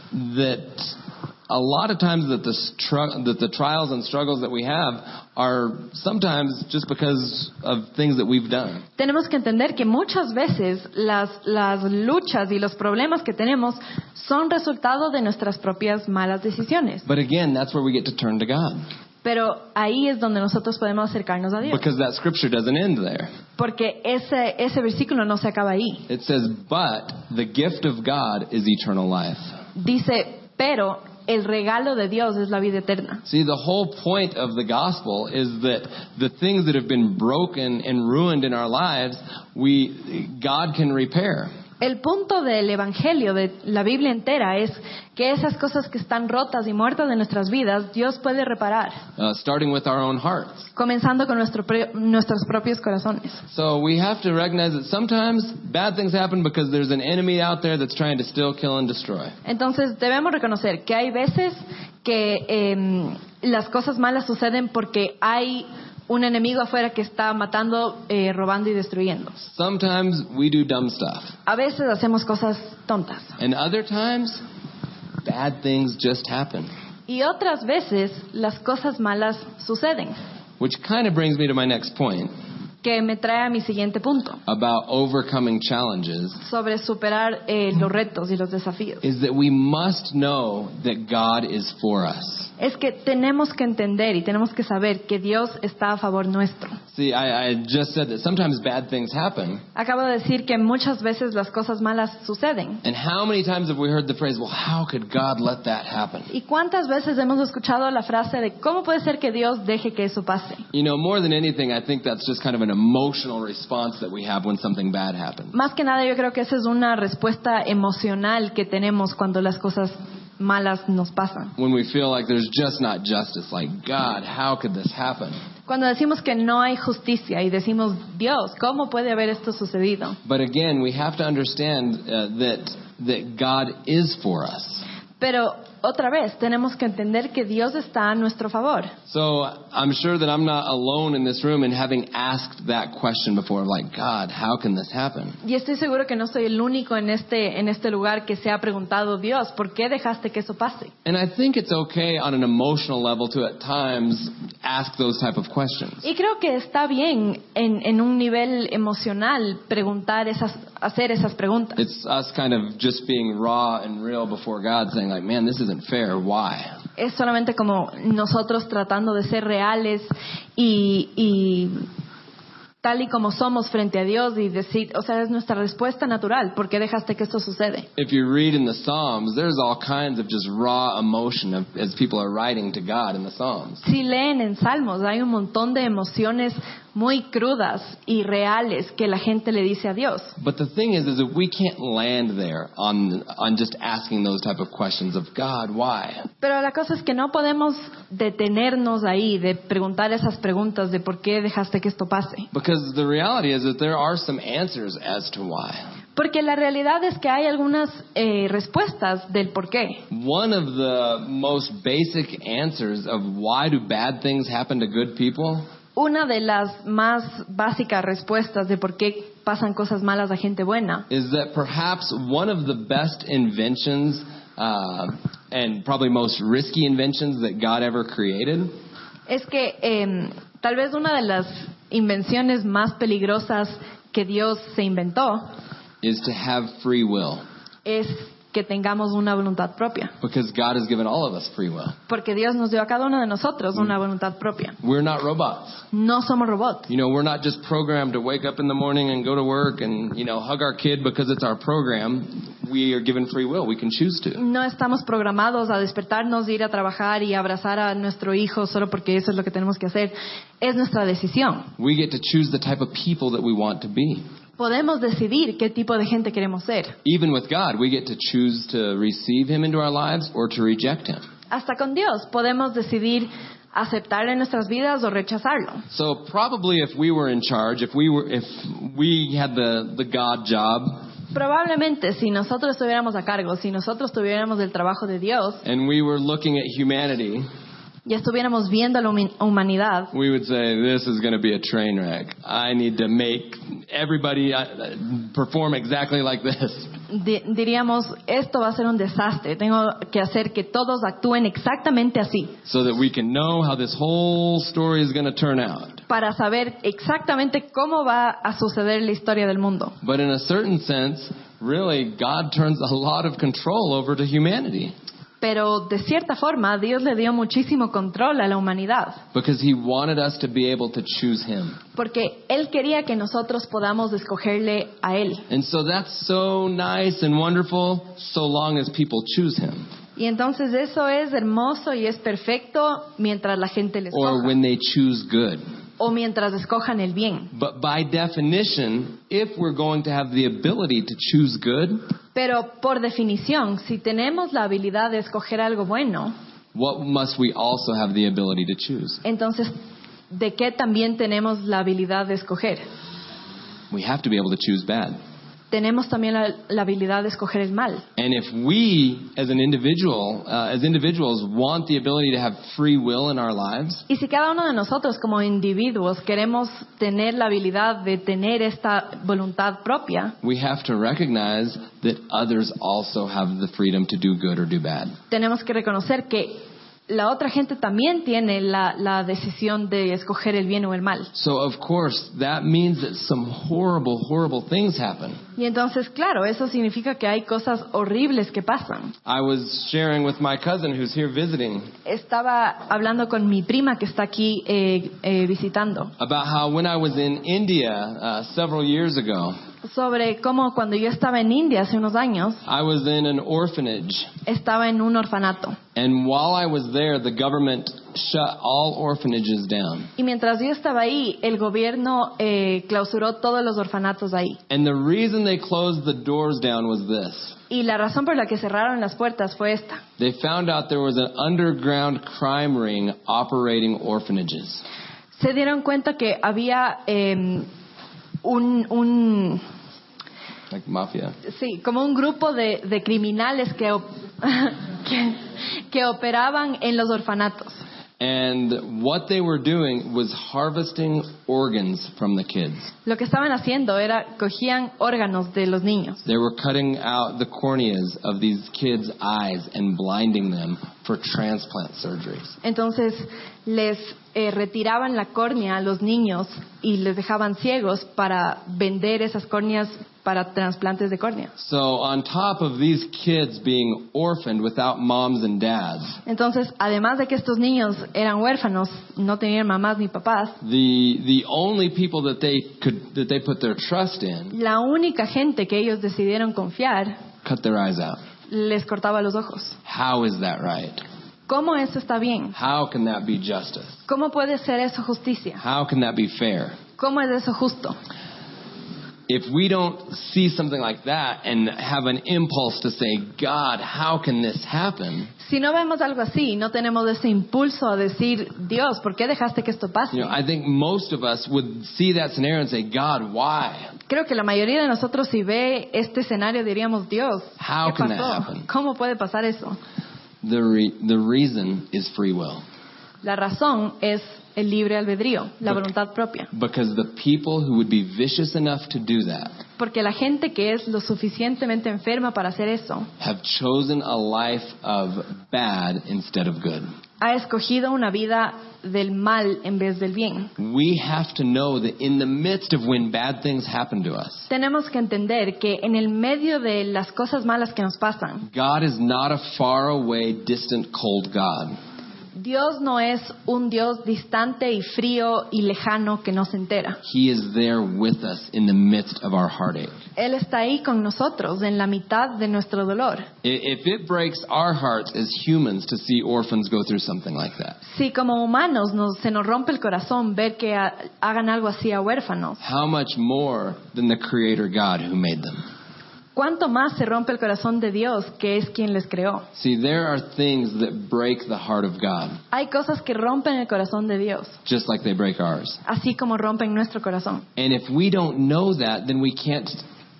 S1: a lot of times that the trials and struggles that we have are sometimes just because of things that we've done.
S2: Tenemos que entender que muchas veces las luchas y los problemas que tenemos son resultado de nuestras propias malas decisiones.
S1: But again, that's where we get to turn to God.
S2: Pero ahí es donde nosotros podemos acercarnos a Dios.
S1: Because that scripture doesn't end there.
S2: Porque ese versículo no se acaba ahí.
S1: It says, but the gift of God is eternal life.
S2: Dice, pero el regalo de Dios es la vida eterna.
S1: See, the whole point of the gospel is that the things that have been broken and ruined in our lives, God can repair.
S2: El punto del evangelio, de la Biblia entera, es que esas cosas que están rotas y muertas de nuestras vidas, Dios puede reparar.
S1: Starting with our own hearts.
S2: Comenzando con nuestros propios corazones.
S1: So we have to recognize that sometimes bad things happen because there's an enemy out there that's trying to steal, kill, and destroy.
S2: Entonces debemos reconocer que hay veces que las cosas malas suceden porque hay un enemigo afuera que está matando, robando y destruyendo.
S1: Sometimes we do dumb stuff.
S2: A veces hacemos cosas tontas.
S1: And other times, bad things just happen.
S2: Y otras veces las cosas malas suceden.
S1: Which kind of brings me to my next point.
S2: Que me trae a mi siguiente punto.
S1: About overcoming challenges.
S2: Sobre superar los retos y los desafíos.
S1: Is that we must know that God is for us.
S2: Es que tenemos que entender y tenemos que saber que Dios está a favor nuestro.
S1: See, I just said that sometimes bad things happen.
S2: Acabo de decir que muchas veces las cosas malas suceden.
S1: And how many times have we heard the phrase, well, how could God let that happen?
S2: ¿Y cuántas veces hemos escuchado la frase de cómo puede ser que Dios deje que eso pase?
S1: You know, more than anything, I think that's just kind of an emotional response that we have when something bad happens.
S2: Más que nada, yo creo que esa es una respuesta emocional que tenemos cuando las cosas malas nos pasan.
S1: When we feel like there's just not justice, like, God, how could this happen?
S2: Cuando decimos que no hay justicia y decimos, Dios, ¿cómo puede haber esto sucedido?
S1: But again, we have to understand that God is for us.
S2: Pero otra vez, tenemos que entender que Dios está a nuestro favor.
S1: So I'm sure that I'm not alone in this room in having asked that question before, like, God, how can this happen?
S2: Y estoy seguro que no soy el único en este lugar que se ha preguntado, Dios, ¿por qué dejaste que eso pase?
S1: And I think it's okay on an emotional level to at times ask those type of questions.
S2: Y creo que está bien en un nivel emocional hacer esas preguntas.
S1: It's us kind of just being raw and real before God, saying like, man, this isn't fair. Why?
S2: Es solamente como nosotros tratando de ser reales y tal y como somos frente a Dios y decir, o sea, es nuestra respuesta natural. ¿Por qué dejaste que esto sucede?
S1: If you read in the Psalms, there's all kinds of just raw emotion as people are writing to God in the Psalms.
S2: Si leen en Salmos, hay un montón de emociones muy crudas y reales que la gente le dice a Dios.
S1: But the thing is that we can't land there on just asking those type of questions of God, why?
S2: Pero la cosa es que no podemos detenernos ahí de preguntar esas preguntas de por qué dejaste que esto pase.
S1: Because the reality is that there are some answers as to why.
S2: Porque la realidad es que hay algunas respuestas del por qué.
S1: One of the most basic answers of why do bad things happen to good people?
S2: Una de las más básicas respuestas de por qué pasan cosas malas a gente buena
S1: is that perhaps one of the best inventions and probably most risky inventions that God ever created
S2: es que tal vez una de las invenciones más peligrosas que Dios se inventó
S1: is to have free will.
S2: Es que tengamos una voluntad propia.
S1: Because God has given all of us free will.
S2: Porque Dios nos dio a cada uno de nosotros una voluntad propia.
S1: We're not robots.
S2: No somos robots.
S1: You know, we're not just programmed to wake up in the morning and go to work and, you know, hug our kid because it's our program. We are given free will. We can choose to.
S2: No estamos programados a despertarnos, ir a trabajar y abrazar a nuestro hijo solo porque eso es lo que tenemos que hacer. Es nuestra decisión.
S1: We get to choose the type of people that we want to be.
S2: Podemos decidir qué tipo de gente queremos ser.
S1: Even with God, we get to choose to receive Him into our lives or to reject Him.
S2: Hasta con Dios podemos decidir aceptarlo en nuestras vidas o rechazarlo.
S1: So probably if we were in charge, if we had the God job,
S2: Probablemente si nosotros estuviéramos a cargo, si nosotros tuviéramos el trabajo de Dios
S1: and we were looking at humanity,
S2: y estuviéramos viendo a la humanidad,
S1: we would say, this is going to be a train wreck. I need to make everybody perform exactly like this.
S2: Diríamos, esto va a ser un desastre, tengo que hacer que todos actúen exactamente así,
S1: So that we can know how this whole story is going to turn out.
S2: para saber exactamente cómo va a suceder la historia del mundo.
S1: But in a certain sense, really, God turns a lot of control over to humanity.
S2: Pero de cierta forma, Dios le dio muchísimo control a la humanidad,
S1: Because He wanted us to be able to choose Him.
S2: porque Él quería que nosotros podamos escogerle a Él.
S1: And so that's so nice and wonderful, so long as people choose Him.
S2: Y entonces eso es hermoso y es perfecto mientras la gente le
S1: Or
S2: escoja,
S1: when they choose good.
S2: o mientras escojan el bien.
S1: But by definition, if we're going to have the ability to choose good,
S2: Pero por definición, si tenemos la habilidad de escoger algo bueno,
S1: what must we also have the ability to choose?
S2: entonces, ¿de qué también tenemos la habilidad de escoger?
S1: We have to be able to choose bad.
S2: Tenemos también la habilidad de escoger el mal.
S1: And if we, as individuals, want the ability to have free will in our lives,
S2: Y si cada uno de nosotros como individuos queremos tener la habilidad de tener esta voluntad propia,
S1: we have to recognize that others also have the freedom to do good or do bad.
S2: tenemos que reconocer que la otra gente también tiene la decisión de escoger el bien o el mal.
S1: So, of course, that means that some horrible, horrible things happen.
S2: Y entonces, claro, eso significa que hay cosas horribles que pasan.
S1: I was sharing with my cousin who's here visiting
S2: Estaba hablando con mi prima que está aquí visitando
S1: about how when I was in India several years ago,
S2: sobre cómo cuando yo estaba en India hace unos años,
S1: I was in an orphanage.
S2: estaba en un orfanato.
S1: And while I was there, the government shut all orphanages down.
S2: Y mientras yo estaba ahí, el gobierno clausuró todos los orfanatos ahí.
S1: And the reason they closed the doors down was this.
S2: Y la razón por la que cerraron las puertas fue esta.
S1: They found out there was an underground crime ring operating orphanages.
S2: Se dieron cuenta que había un
S1: Like mafia.
S2: sí, como un grupo de criminales que operaban en los orfanatos.
S1: And what they were doing was harvesting organs from the kids.
S2: Lo que estaban haciendo era cogían órganos de los niños.
S1: They were cutting out the corneas of these kids' eyes and blinding them for transplant surgeries.
S2: Entonces les retiraban la córnea a los niños y les dejaban ciegos para vender esas córneas para trasplantes de córnea.
S1: So on top of these kids being orphaned without moms and dads,
S2: Entonces, además de que estos niños eran huérfanos, no tenían mamás ni papás,
S1: the only people that they put their trust in
S2: la única gente que ellos decidieron confiar
S1: cut their eyes out.
S2: les cortaba los ojos.
S1: How is that right?
S2: ¿Cómo eso está bien?
S1: How can that be justice?
S2: ¿Cómo puede ser eso justicia?
S1: How can that be fair?
S2: ¿Cómo es eso justo?
S1: If we don't see something like that and have an impulse to say, God, how can this happen?
S2: Si no vemos algo así, no tenemos ese impulso a decir, Dios, ¿por qué dejaste que esto pase?
S1: I think most of us would see that scenario and say, God, why?
S2: Creo que la mayoría de nosotros si ve este escenario diríamos, Dios,
S1: How
S2: ¿qué
S1: can that
S2: pasó?
S1: happen?
S2: ¿Cómo puede pasar eso?
S1: The reason is free will.
S2: La razón es el libre albedrío, la voluntad propia.
S1: Because the people who would be vicious enough to do that
S2: Porque la gente que es lo suficientemente enferma para hacer eso
S1: have chosen a life of bad instead of good.
S2: ha escogido una vida del mal en vez del bien.
S1: We have to know that in the midst of when bad things happen to us,
S2: Tenemos que entender que en el medio de las cosas malas que nos pasan,
S1: God is not a far away, distant, cold God.
S2: Dios no es un Dios distante y frío y lejano que no se entera.
S1: He is there with us in the midst of our heartache.
S2: Él está ahí con nosotros en la mitad de nuestro dolor.
S1: If it breaks our hearts as humans to see orphans go through something like that,
S2: Si como humanos se nos rompe el corazón ver que hagan algo así a huérfanos,
S1: how much more than the Creator God who made them?
S2: ¿cuánto más se rompe el corazón de Dios, que es quien les creó?
S1: See, there are things that break the heart of God,
S2: Hay cosas que rompen el corazón de Dios,
S1: just like they break ours.
S2: así como rompen nuestro corazón.
S1: And if we don't know that, then we can't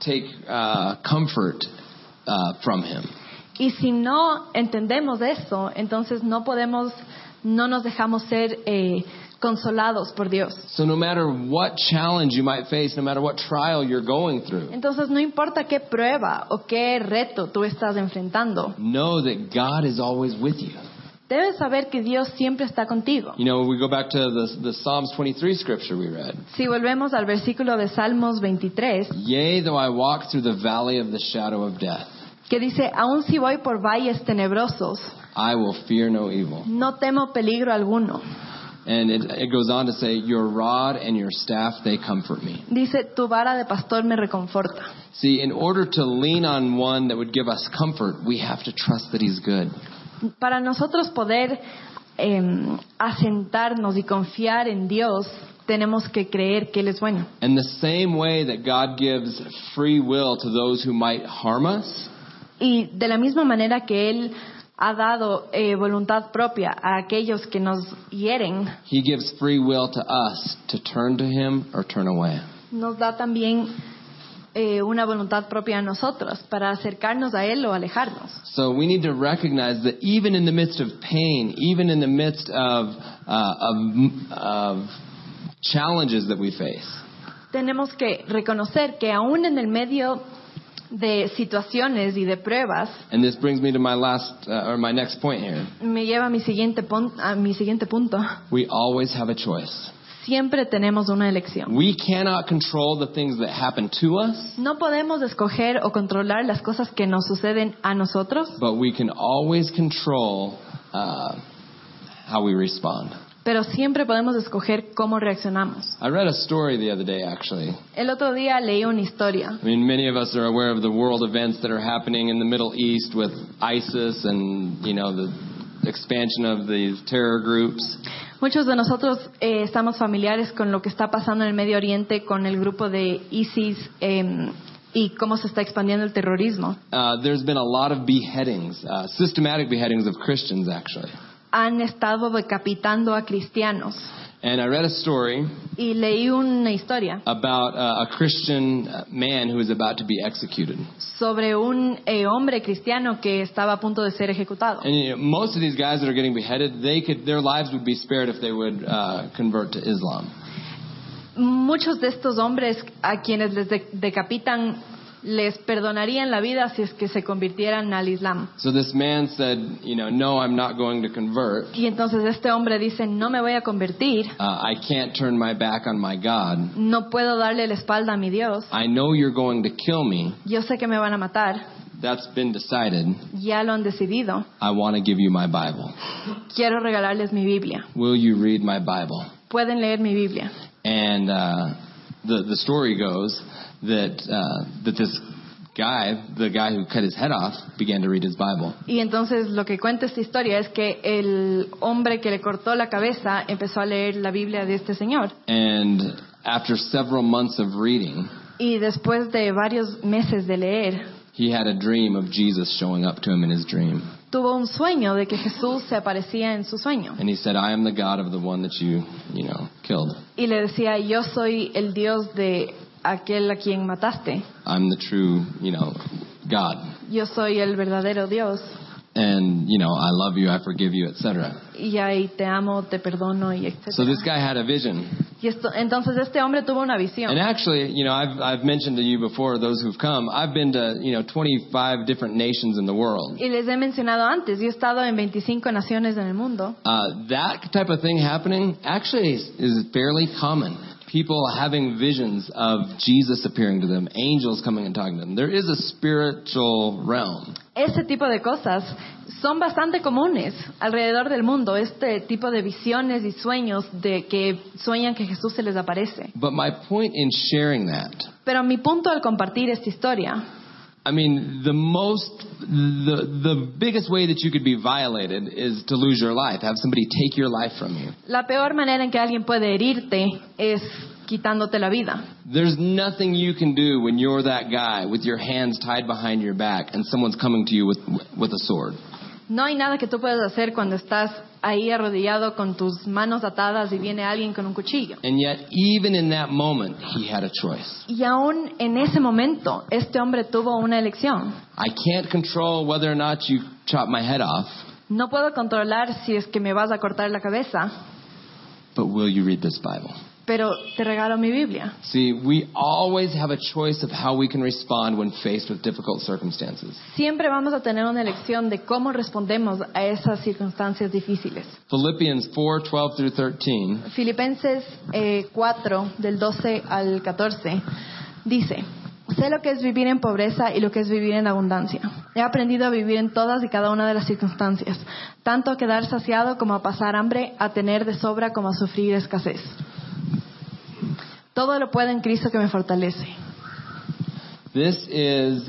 S1: take comfort from him.
S2: Y si no entendemos eso, entonces no nos dejamos ser consolados por Dios.
S1: So no matter what challenge you might face, no matter what trial you're going through,
S2: Entonces no importa qué prueba o qué reto tú estás enfrentando,
S1: know that God is always with you.
S2: debes saber que Dios siempre está contigo.
S1: You know, we go back to the Psalms 23 scripture we read.
S2: Si volvemos al versículo de Salmos 23,
S1: Yea, though I walk through the valley of the shadow of death,
S2: que dice, aun si voy por valles tenebrosos,
S1: I will fear no evil.
S2: no temo peligro alguno.
S1: And it goes on to say, your rod and your staff, they comfort me.
S2: Dice, tu vara de pastor me reconforta.
S1: See, in order to lean on one that would give us comfort, we have to trust that he's good.
S2: Para nosotros poder asentarnos y confiar en Dios, tenemos que creer que Él es bueno.
S1: And the same way that God gives free will to those who might harm us,
S2: Y de la misma manera que Él ha dado voluntad propia a aquellos que nos hieren,
S1: he gives free will to us to turn to him or turn away.
S2: nos da también una voluntad propia a nosotros para acercarnos a Él o alejarnos.
S1: So we need to recognize that even in the midst of pain, even in the midst of challenges that we face,
S2: Tenemos que reconocer que aún en el medio de situaciones y de pruebas,
S1: and this brings me to my my next point here,
S2: me lleva a mi siguiente punto,
S1: we always have a choice.
S2: siempre tenemos una elección.
S1: We cannot control the things that happen to us,
S2: No podemos escoger o controlar las cosas que nos suceden a nosotros,
S1: but we can always control how we respond.
S2: pero siempre podemos escoger cómo reaccionamos.
S1: I read a story the other day, actually.
S2: El otro día leí una historia.
S1: I mean, many of us are aware of the world events that are happening in the Middle East with ISIS and, you know, the expansion of these terror groups.
S2: Muchos de nosotros estamos familiares con lo que está pasando en el Medio Oriente con el grupo de ISIS y cómo se está expandiendo el terrorismo.
S1: There's been a lot of beheadings, systematic beheadings of Christians, actually.
S2: Han estado decapitando a cristianos.
S1: And I read a story
S2: Y leí una historia
S1: about a Christian man who was about to be executed.
S2: sobre un hombre cristiano que estaba a punto de ser ejecutado.
S1: And you know, most of these guys that are getting beheaded, their lives would be spared if they would convert to Islam.
S2: Muchos de estos hombres a quienes les decapitan les perdonarían la vida si es que se convirtieran al Islam.
S1: So this man said, you know, no, I'm not going to convert.
S2: Y entonces este hombre dice, no me voy a convertir,
S1: I can't turn my back on my God.
S2: no puedo darle la espalda a mi Dios,
S1: I know you're going to kill me.
S2: yo sé que me van a matar,
S1: That's been decided.
S2: ya lo han decidido,
S1: I want to give you my Bible.
S2: quiero regalarles mi Biblia,
S1: Will you read my Bible?
S2: pueden leer mi Biblia.
S1: And the story goes that this guy, the guy who cut his head off, began to read his Bible.
S2: Y entonces lo que cuenta esta historia es que el hombre que le cortó la cabeza empezó a leer la Biblia de este señor.
S1: And after several months of reading,
S2: Y después de varios meses de leer,
S1: he had a dream of Jesus showing up to him in his dream.
S2: tuvo un sueño de que Jesús se aparecía en su sueño.
S1: And he said, I am the God of the one that you killed.
S2: Y le decía, yo soy el Dios de aquel a quien mataste.
S1: I'm the true, God.
S2: Yo soy el verdadero Dios.
S1: And, I love you, I forgive you, etc.
S2: Y ahí te amo, te perdono y etc.
S1: So this guy had a vision.
S2: Y entonces este hombre tuvo una visión.
S1: And actually, I've mentioned to you before, those who've come, I've been to, 25 different nations in the world.
S2: Y les he mencionado antes, yo he estado en 25 naciones en el mundo.
S1: That type of thing happening actually is fairly common. People having visions of Jesus appearing to them, angels coming and talking to them. There is a spiritual realm.
S2: Ese tipo de cosas son bastante comunes alrededor del mundo. Este tipo de visiones y sueños de que sueñan que Jesús se les aparece.
S1: But my point in sharing that,
S2: Pero mi punto al compartir esta historia,
S1: I mean, the biggest way that you could be violated is to lose your life, have somebody take your life from you.
S2: la peor manera en que alguien puede herirte es quitándote la vida.
S1: There's nothing you can do when you're that guy with your hands tied behind your back and someone's coming to you with a sword.
S2: No hay nada que tú puedas hacer cuando estás ahí arrodillado con tus manos atadas y viene alguien con un cuchillo.
S1: And yet, even in that moment, he had a choice.
S2: Y aún en ese momento, este hombre tuvo una elección.
S1: I can't control whether or not you chop my head off,
S2: No puedo controlar si es que me vas a cortar la cabeza,
S1: but will you read this Bible?
S2: pero te regalo mi Biblia.
S1: See, we always have a choice of how we can respond when faced with difficult circumstances.
S2: Siempre vamos a tener una elección de cómo respondemos a esas circunstancias difíciles.
S1: Philippians 4:12 through 13
S2: Filipenses 4, del 12 al 14, dice: sé lo que es vivir en pobreza y lo que es vivir en abundancia. He aprendido a vivir en todas y cada una de las circunstancias, tanto a quedar saciado como a pasar hambre, a tener de sobra como a sufrir escasez. Todo lo puedo en Cristo que me fortalece.
S1: This is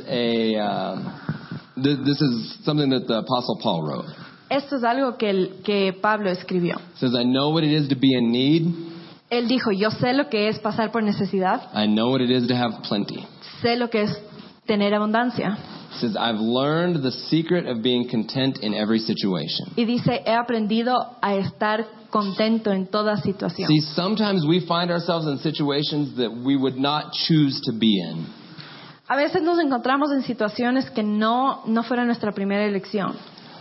S1: this is something that the Apostle Paul wrote.
S2: Esto es algo que Pablo escribió.
S1: It says, I know what it is to be in need.
S2: Él dijo: yo sé lo que es pasar por necesidad,
S1: I know what it is to have plenty.
S2: sé lo que es tener abundancia.
S1: It says, I've learned the secret of being content in every situation.
S2: Y dice: he aprendido a estar contento en toda situación.
S1: See, sometimes we find ourselves in situations that we would not choose to be in.
S2: A veces nos encontramos en situaciones que no fueron nuestra primera elección.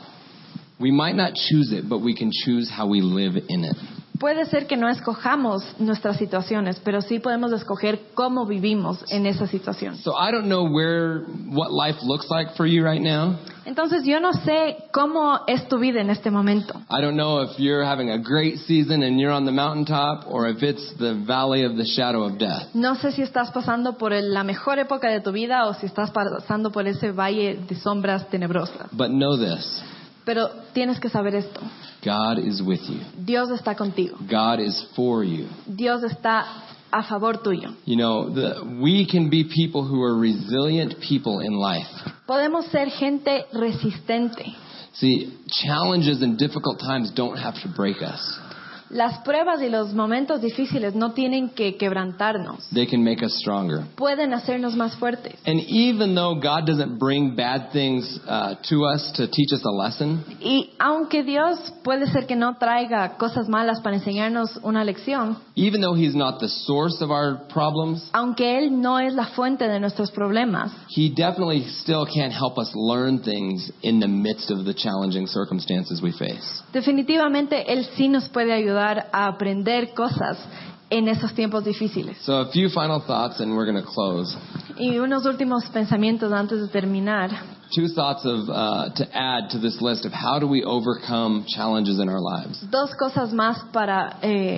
S1: We might not choose it, but we can choose how we live in it.
S2: Puede ser que no escojamos nuestras situaciones, pero sí podemos escoger cómo vivimos en esa situación.
S1: So I don't know what life looks like for you right now.
S2: Entonces yo no sé cómo es tu vida en este momento.
S1: I don't know if you're having a great season and you're on the mountaintop or if it's the valley of the shadow of death.
S2: No sé si estás pasando por la mejor época de tu vida o si estás pasando por ese valle de sombras tenebrosas.
S1: But know this,
S2: Pero tienes que saber esto:
S1: God is with you.
S2: Dios está contigo.
S1: God is for you.
S2: Dios está a favor tuyo.
S1: You know, we can be people who are resilient people in life.
S2: Podemos ser gente resistente.
S1: See, challenges and difficult times don't have to break us.
S2: Las pruebas y los momentos difíciles no tienen que quebrantarnos.
S1: They can make us stronger.
S2: Pueden hacernos más fuertes.
S1: And even though God doesn't bring bad things to us to teach us a lesson,
S2: Y aunque Dios puede ser que no traiga cosas malas para enseñarnos una lección,
S1: even though He's not the source of our problems,
S2: aunque Él no es la fuente de nuestros problemas,
S1: He definitely still can help us learn things in the midst of the challenging circumstances we face.
S2: definitivamente Él sí nos puede ayudar a aprender cosas en esos tiempos difíciles.
S1: So a few final thoughts and we're going to close.
S2: Y unos últimos pensamientos antes de terminar.
S1: Two thoughts to add to this list of how do we overcome challenges in our lives.
S2: Dos cosas más para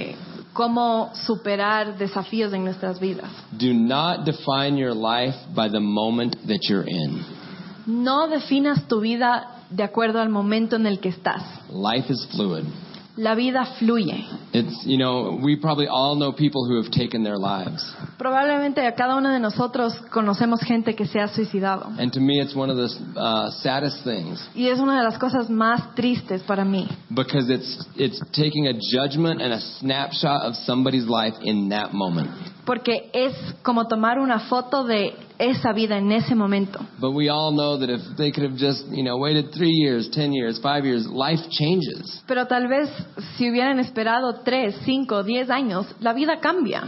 S2: cómo superar desafíos en nuestras vidas.
S1: Do not define your life by the moment that you're in.
S2: No definas tu vida de acuerdo al momento en el que estás.
S1: Life is fluid.
S2: La vida fluye.
S1: It's, you know, we probably all know people who have taken their lives.
S2: Probablemente a cada uno de nosotros conocemos gente que se ha suicidado.
S1: And to me, it's one of the saddest things.
S2: Y es una de las cosas más tristes para mí.
S1: Because it's taking a judgment and a snapshot of somebody's life in that moment.
S2: Porque es como tomar una foto de esa vida en ese momento.
S1: But we all know that if they could have just, waited 3 years, 10 years, 5 years, life changes.
S2: Pero tal vez si hubieran esperado 3, 5, 10 años, la vida cambia.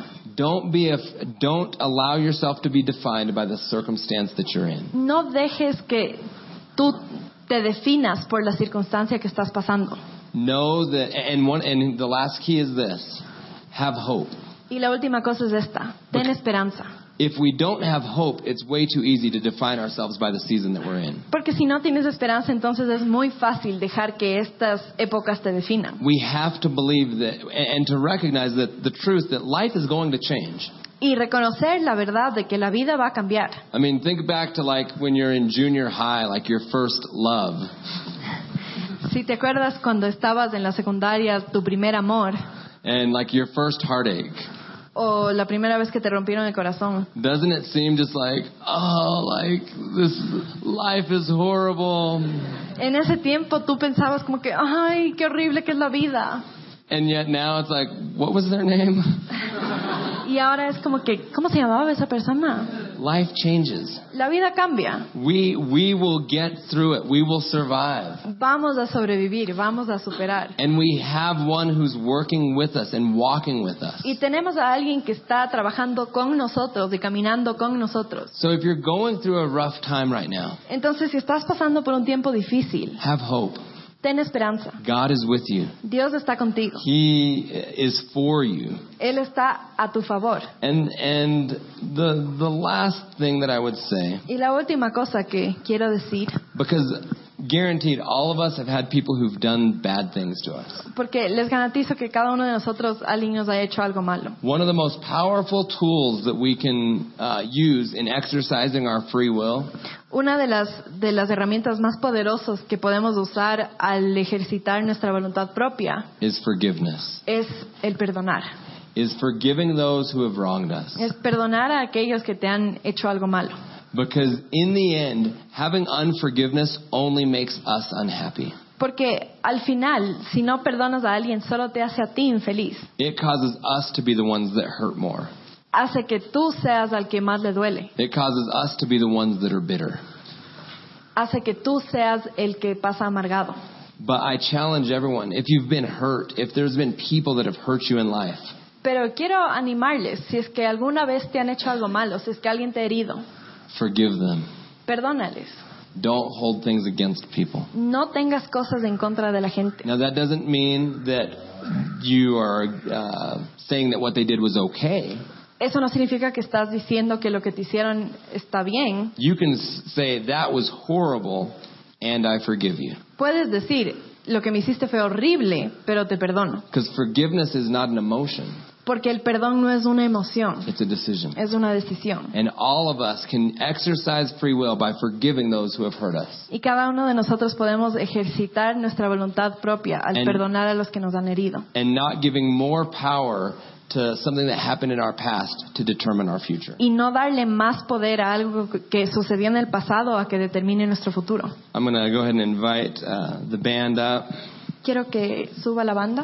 S1: Don't allow yourself to be defined by the circumstance that you're in.
S2: No dejes que tú te definas por la circunstancia que estás pasando.
S1: Know that, and the last key is this: have hope.
S2: Y la última cosa es esta: ten esperanza.
S1: If we don't have hope, it's way too easy to define ourselves by the season that we're in.
S2: Porque si no tienes esperanza, entonces es muy fácil dejar que estas épocas te definan.
S1: We have to believe that and to recognize that the truth that life is going to change.
S2: Y reconocer la verdad de que la vida va a cambiar.
S1: I mean, think back to like when you're in junior high, like your first love.
S2: Si te acuerdas cuando estabas en la secundaria, tu primer amor.
S1: And like your first heartache.
S2: O la primera vez que te rompieron el corazón.
S1: Doesn't it seem just like, this life is horrible?
S2: En ese tiempo tú pensabas como que, ay, qué horrible que es la vida.
S1: And yet now it's like, what was their name?
S2: Y Y ahora es como que, ¿cómo se llamaba esa persona?
S1: Life changes.
S2: La vida cambia.
S1: We will get through it. We will survive.
S2: Vamos a sobrevivir, vamos a superar.
S1: And we have one who's working with us and walking with us.
S2: Y tenemos a alguien que está trabajando con nosotros y caminando con nosotros.
S1: So if you're going through a rough time right now,
S2: Entonces, si estás pasando por un tiempo difícil,
S1: have hope.
S2: ten esperanza.
S1: God is with you.
S2: Dios está contigo.
S1: He is for you.
S2: Él está a tu favor.
S1: And the last thing that I would say,
S2: Y la última cosa que quiero decir,
S1: because guaranteed all of us have had people who've done bad things to us.
S2: porque les garantizo que cada uno de nosotros, alguien nos ha hecho algo malo.
S1: One of the most powerful tools that we can use in exercising our free will
S2: Una de las herramientas más poderosas que podemos usar al ejercitar nuestra voluntad propia
S1: is forgiveness.
S2: es el perdonar.
S1: Is forgiving those who have wronged us.
S2: Es perdonar a aquellos que te han hecho algo malo.
S1: Because in the end, having unforgiveness only makes us unhappy.
S2: Porque al final, si no perdonas a alguien, solo te hace a ti infeliz.
S1: It causes us to be the ones that hurt more.
S2: Hace que tú seas al que más le duele.
S1: It causes us to be the ones that are bitter.
S2: Hace que tú seas el que pasa amargado.
S1: But I challenge everyone, if you've been hurt, if there's been people that have hurt you in life,
S2: Pero quiero animarles, si es que alguna vez te han hecho algo malo, si es que alguien te ha herido,
S1: forgive them.
S2: perdónales.
S1: Don't hold things against people.
S2: No tengas cosas en contra de la gente.
S1: Now that doesn't mean that you are saying that what they did was okay.
S2: Eso no significa que estás diciendo que lo que te hicieron está bien.
S1: You can say that was horrible and I forgive you.
S2: Puedes decir, lo que me hiciste fue horrible, pero te perdono.
S1: Because forgiveness is not an emotion.
S2: Porque el perdón no es una emoción,
S1: It's a decision.
S2: es una decisión.
S1: And all of us can exercise free will by forgiving those who have hurt us.
S2: Y cada uno de nosotros podemos ejercitar nuestra voluntad propia al perdonar a los que nos han herido.
S1: And not giving more power to something that happened in our past to determine our future.
S2: Y no darle más poder a algo que sucedió en el pasado a que determine nuestro futuro.
S1: I'm going to go ahead and invite the band up.
S2: Quiero que suba la banda.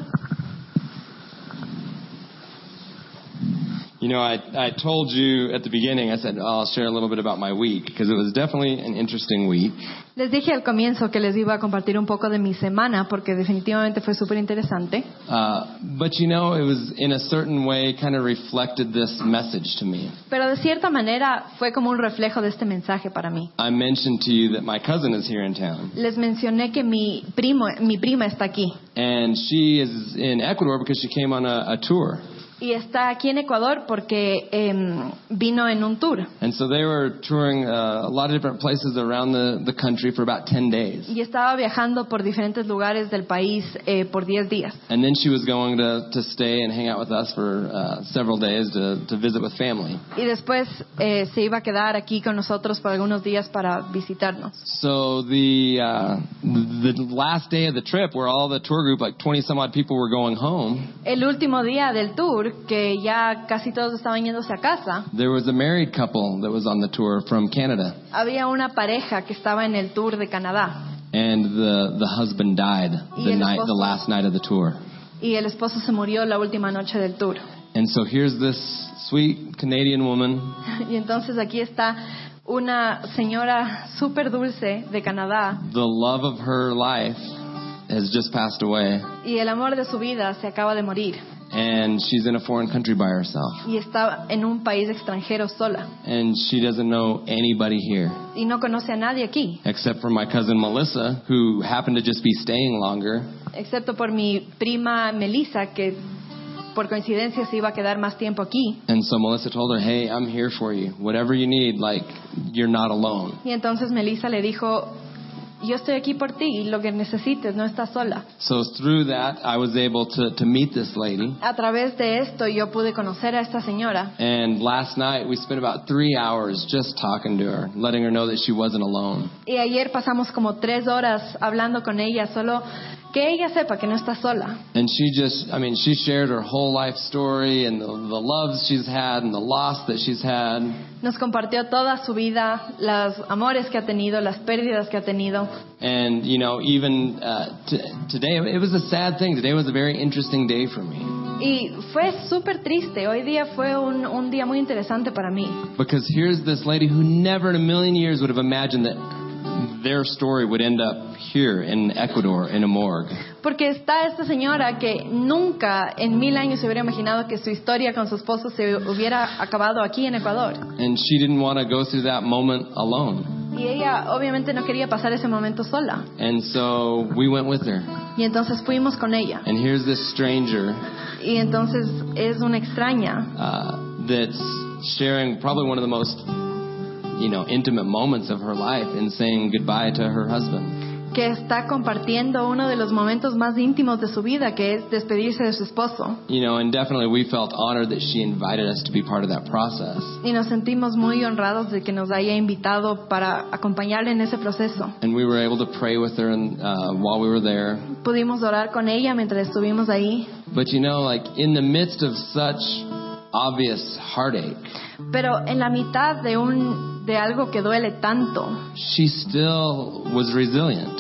S1: You know, I told you at the beginning, I said, I'll share a little bit about my week, because it was definitely an interesting week.
S2: Les dije al comienzo que les iba a compartir un poco de mi semana, porque definitivamente fue súper interesante.
S1: But you know, it was in a certain way kind of reflected this message to me.
S2: Pero de cierta manera fue como un reflejo de este mensaje para mí.
S1: I mentioned to you that my cousin is here in town.
S2: Les mencioné que mi prima está aquí.
S1: And she is in Ecuador because she came on a tour.
S2: Y está aquí en Ecuador porque vino en un tour.
S1: And so they were touring a lot of different places around the country for about 10 days.
S2: Y estaba viajando por diferentes lugares del país por 10 días.
S1: And then she was going to stay and hang out with us for several days to visit with family.
S2: Y después se iba a quedar aquí con nosotros por algunos días para visitarnos.
S1: So the last day of the trip, where all the tour group, like 20 some odd people, were going home.
S2: El último día del tour, que ya casi todos estaban yéndose a casa,
S1: There was a married couple that was on the tour from Canada.
S2: había una pareja que estaba en el tour de Canadá.
S1: And the husband died the last night of the tour.
S2: Y el esposo se murió la última noche del tour.
S1: And so here's this sweet Canadian woman.
S2: Y entonces aquí está una señora súper dulce de Canadá.
S1: The love of her life has just passed away.
S2: Y el amor de su vida se acaba de morir.
S1: And she's in a foreign country by herself.
S2: Y está en un país extranjero sola.
S1: And she doesn't know anybody here.
S2: Y no conoce a nadie aquí.
S1: Except for my cousin Melissa, who happened to just be staying longer.
S2: Excepto por mi prima Melissa, que por coincidencia se iba a quedar más tiempo aquí.
S1: And so Melissa told her, hey, I'm here for you. Whatever you need, like, you're not alone.
S2: Y entonces Melissa le dijo, yo estoy aquí por ti y lo que necesites, no estás sola.
S1: So through that, I was able to meet this lady.
S2: A través de esto yo pude conocer a esta señora.
S1: And last night, we spent about 3 hours just talking to her, letting her know that she wasn't alone.
S2: Y ayer pasamos como 3 horas hablando con ella, solo que ella sepa que no está sola.
S1: And she shared her whole life story and the loves she's had and the loss that she's had.
S2: Nos compartió toda su vida, los amores que ha tenido, las pérdidas que ha tenido.
S1: And, you know, even today, it was a sad thing. Today was a very interesting day for me.
S2: Y fue súper triste. Hoy día fue un día muy interesante para mí.
S1: Because here's this lady who never in a million years would have imagined that their story would end up here in Ecuador in a morgue.
S2: Porque está esta señora que nunca en 1000 años se hubiera imaginado que su historia con su esposo se hubiera acabado aquí en Ecuador.
S1: And she didn't want to go through that moment alone.
S2: Y ella obviamente no quería pasar ese momento sola.
S1: And so we went with her.
S2: Y entonces fuimos con ella.
S1: And here's this stranger
S2: Y entonces es una extraña
S1: that's sharing probably one of the most, intimate moments of her life in saying goodbye to her husband.
S2: que está compartiendo uno de los momentos más íntimos de su vida, que es despedirse de su esposo.
S1: And definitely we felt honored that she invited us to be part of that process.
S2: Y nos sentimos muy honrados de que nos haya invitado para acompañarle en ese proceso.
S1: And we were able to pray with her while we were there.
S2: Pudimos orar con ella mientras estuvimos ahí.
S1: But in the midst of such obvious heartache,
S2: Pero en la mitad de algo que duele tanto,
S1: she still was resilient.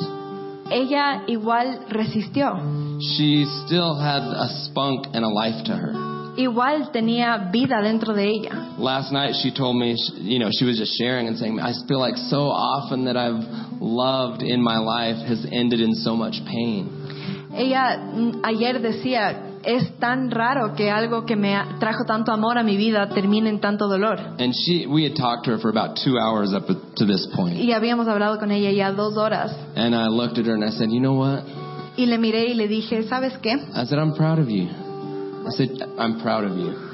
S2: ella igual resistió.
S1: She still had a spunk and a life to her.
S2: Igual tenía vida dentro de ella.
S1: Last night she told me, she was just sharing and saying, I feel like so often that I've loved in my life has ended in so much pain.
S2: Ella ayer decía, es tan raro que algo que me trajo tanto amor a mi vida termine en tanto dolor.
S1: And we had talked to her for about 2 hours up to this point.
S2: Y habíamos hablado con ella ya 2 horas.
S1: And I looked at her and I said, you know what?
S2: Y le miré y le dije, ¿sabes qué?
S1: I said, I'm proud of you. I said, I'm proud of you.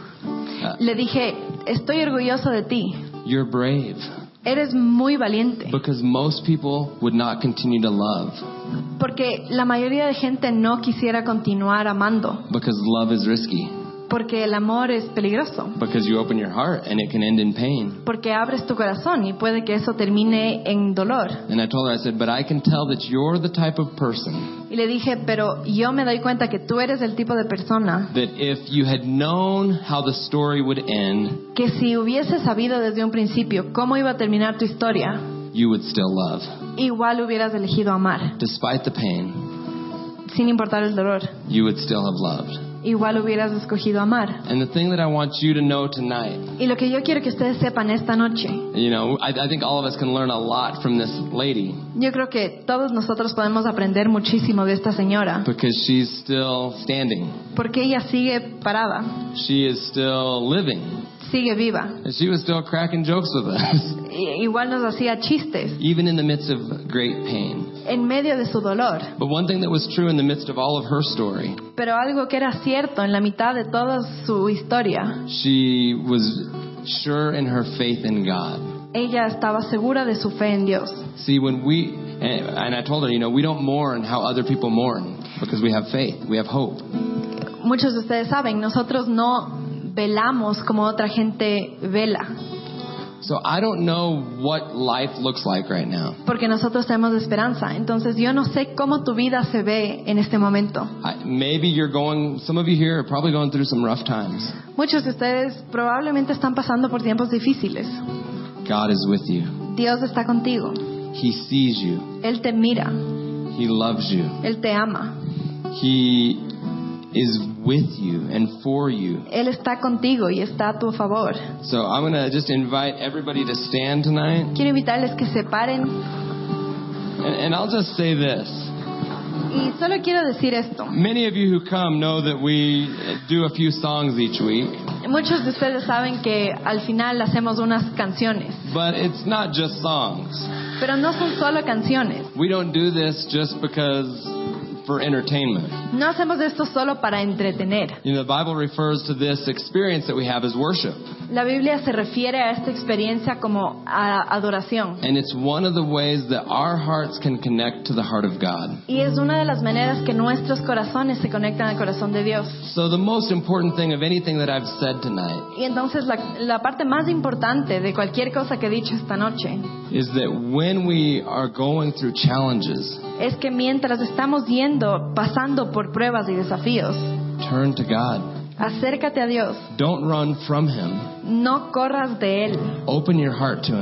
S2: Le dije, estoy orgulloso de ti.
S1: You're brave.
S2: Eres muy valiente.
S1: Because most people would not continue to love.
S2: Porque la mayoría de gente no quisiera continuar amando.
S1: Because love is risky.
S2: Porque el amor es peligroso.
S1: Because you open your heart and it can end in pain.
S2: Porque abres tu corazón y puede que eso termine en dolor.
S1: And I told her, I said, but I can tell that you're the type of person.
S2: Y le dije, pero yo me doy cuenta que tú eres el tipo de persona
S1: That if you had known how the story would end,
S2: que si hubieses sabido desde un principio cómo iba a terminar tu historia,
S1: you would still love.
S2: igual hubieras elegido amar.
S1: Despite the pain,
S2: Sin importar el dolor,
S1: you would still have loved.
S2: igual hubieras escogido amar.
S1: And the thing that I want you to know tonight,
S2: Y lo que yo quiero que ustedes sepan esta noche,
S1: I think all of us can learn a lot from this lady.
S2: yo creo que todos nosotros podemos aprender muchísimo de esta señora.
S1: Because she's still standing.
S2: Porque ella sigue parada,
S1: She is still living.
S2: sigue viva.
S1: And she was still cracking jokes with us.
S2: Igual nos hacía chistes
S1: Even in the midst of great pain.
S2: en medio de su dolor.
S1: But one thing that was true in the midst of all of her story,
S2: Pero algo que era cierto en la mitad de toda su historia,
S1: she was sure in her faith in God.
S2: ella estaba segura de su fe en Dios.
S1: See, when and I told her, we don't mourn how other people mourn because we have faith, we have hope.
S2: Muchos de ustedes saben, nosotros no velamos como otra gente vela,
S1: So I don't know what life looks like right now.
S2: porque nosotros tenemos esperanza. Entonces yo no sé cómo tu vida se ve en este momento.
S1: Maybe some of you here are probably going through some rough times.
S2: Muchos de ustedes probablemente están pasando por tiempos difíciles.
S1: God is with you.
S2: Dios está contigo.
S1: He sees you.
S2: Él te mira.
S1: He loves you.
S2: Él te ama.
S1: He is with you and for you.
S2: Él está contigo y está a tu favor.
S1: So I'm going to just invite everybody to stand tonight.
S2: Quiero invitarles que se paren.
S1: And I'll just say this.
S2: Y solo quiero decir esto.
S1: Many of you who come know that we do a few songs each week.
S2: Muchos de ustedes saben que al final hacemos unas canciones.
S1: But it's not just songs.
S2: Pero no son solo canciones.
S1: We don't do this just for entertainment.
S2: No hacemos esto solo para entretener.
S1: The Bible refers to this experience that we have as worship.
S2: La Biblia se refiere a esta experiencia como a adoración.
S1: And it's one of the ways that our hearts can connect to the heart of God.
S2: Y es una de las maneras que nuestros corazones se conectan al corazón de Dios.
S1: So the most important thing of anything that I've said tonight
S2: Y entonces la parte más importante de cualquier cosa que he dicho esta noche
S1: is that when we are going through challenges,
S2: es que mientras estamos pasando por pruebas y desafíos,
S1: turn to God.
S2: acércate a Dios.
S1: Don't run from Him.
S2: No corras de Él.
S1: Open your heart to Him.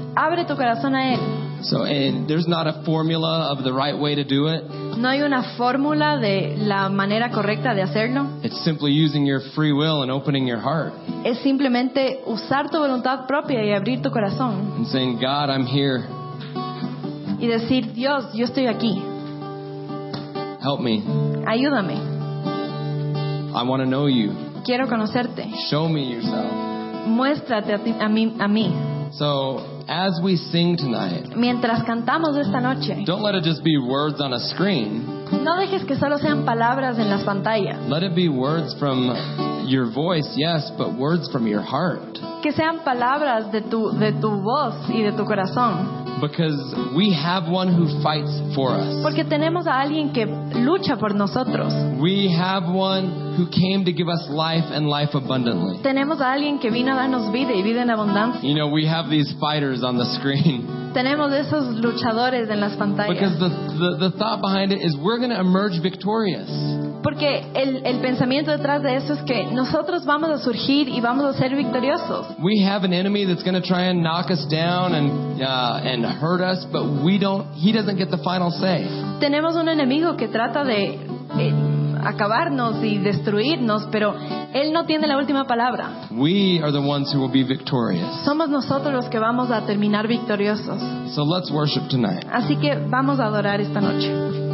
S2: abre tu corazón a Él.
S1: So, and there's not a formula of the right way to do it.
S2: No hay una fórmula de la manera correcta de hacerlo.
S1: It's simply using your free will and opening your heart
S2: Es simplemente usar tu voluntad propia y abrir tu corazón
S1: and saying, God, I'm here.
S2: y decir, Dios, yo estoy aquí.
S1: Help me.
S2: Ayúdame.
S1: I want to know you.
S2: Quiero conocerte.
S1: Show me yourself.
S2: Muéstrate a mí.
S1: So, as we sing tonight,
S2: Mientras cantamos esta noche,
S1: don't let it just be words on a screen.
S2: no dejes que solo sean palabras en las pantallas.
S1: Let it be words from your voice, yes, but words from your heart.
S2: Que sean palabras de tu voz y de tu corazón.
S1: Because we have one who fights for us.
S2: Porque tenemos a alguien que lucha por nosotros.
S1: We have one who came to give us life and life abundantly.
S2: Tenemos a alguien que vino a darnos vida y vida en abundancia.
S1: You know, we have these fighters on the screen.
S2: Tenemos esos luchadores en las
S1: Because
S2: pantallas.
S1: the thought behind it is we're going to emerge victorious.
S2: Porque el pensamiento detrás de eso es que nosotros vamos a surgir y vamos a ser victoriosos.
S1: We have an enemy that's going to try and knock us down and hurt us, but he doesn't get the final say.
S2: Tenemos un enemigo que trata de acabarnos y destruirnos, pero él no tiene la última palabra.
S1: We are the ones who will be victorious.
S2: Somos nosotros los que vamos a terminar victoriosos.
S1: So let's worship tonight.
S2: Así que vamos a adorar esta noche.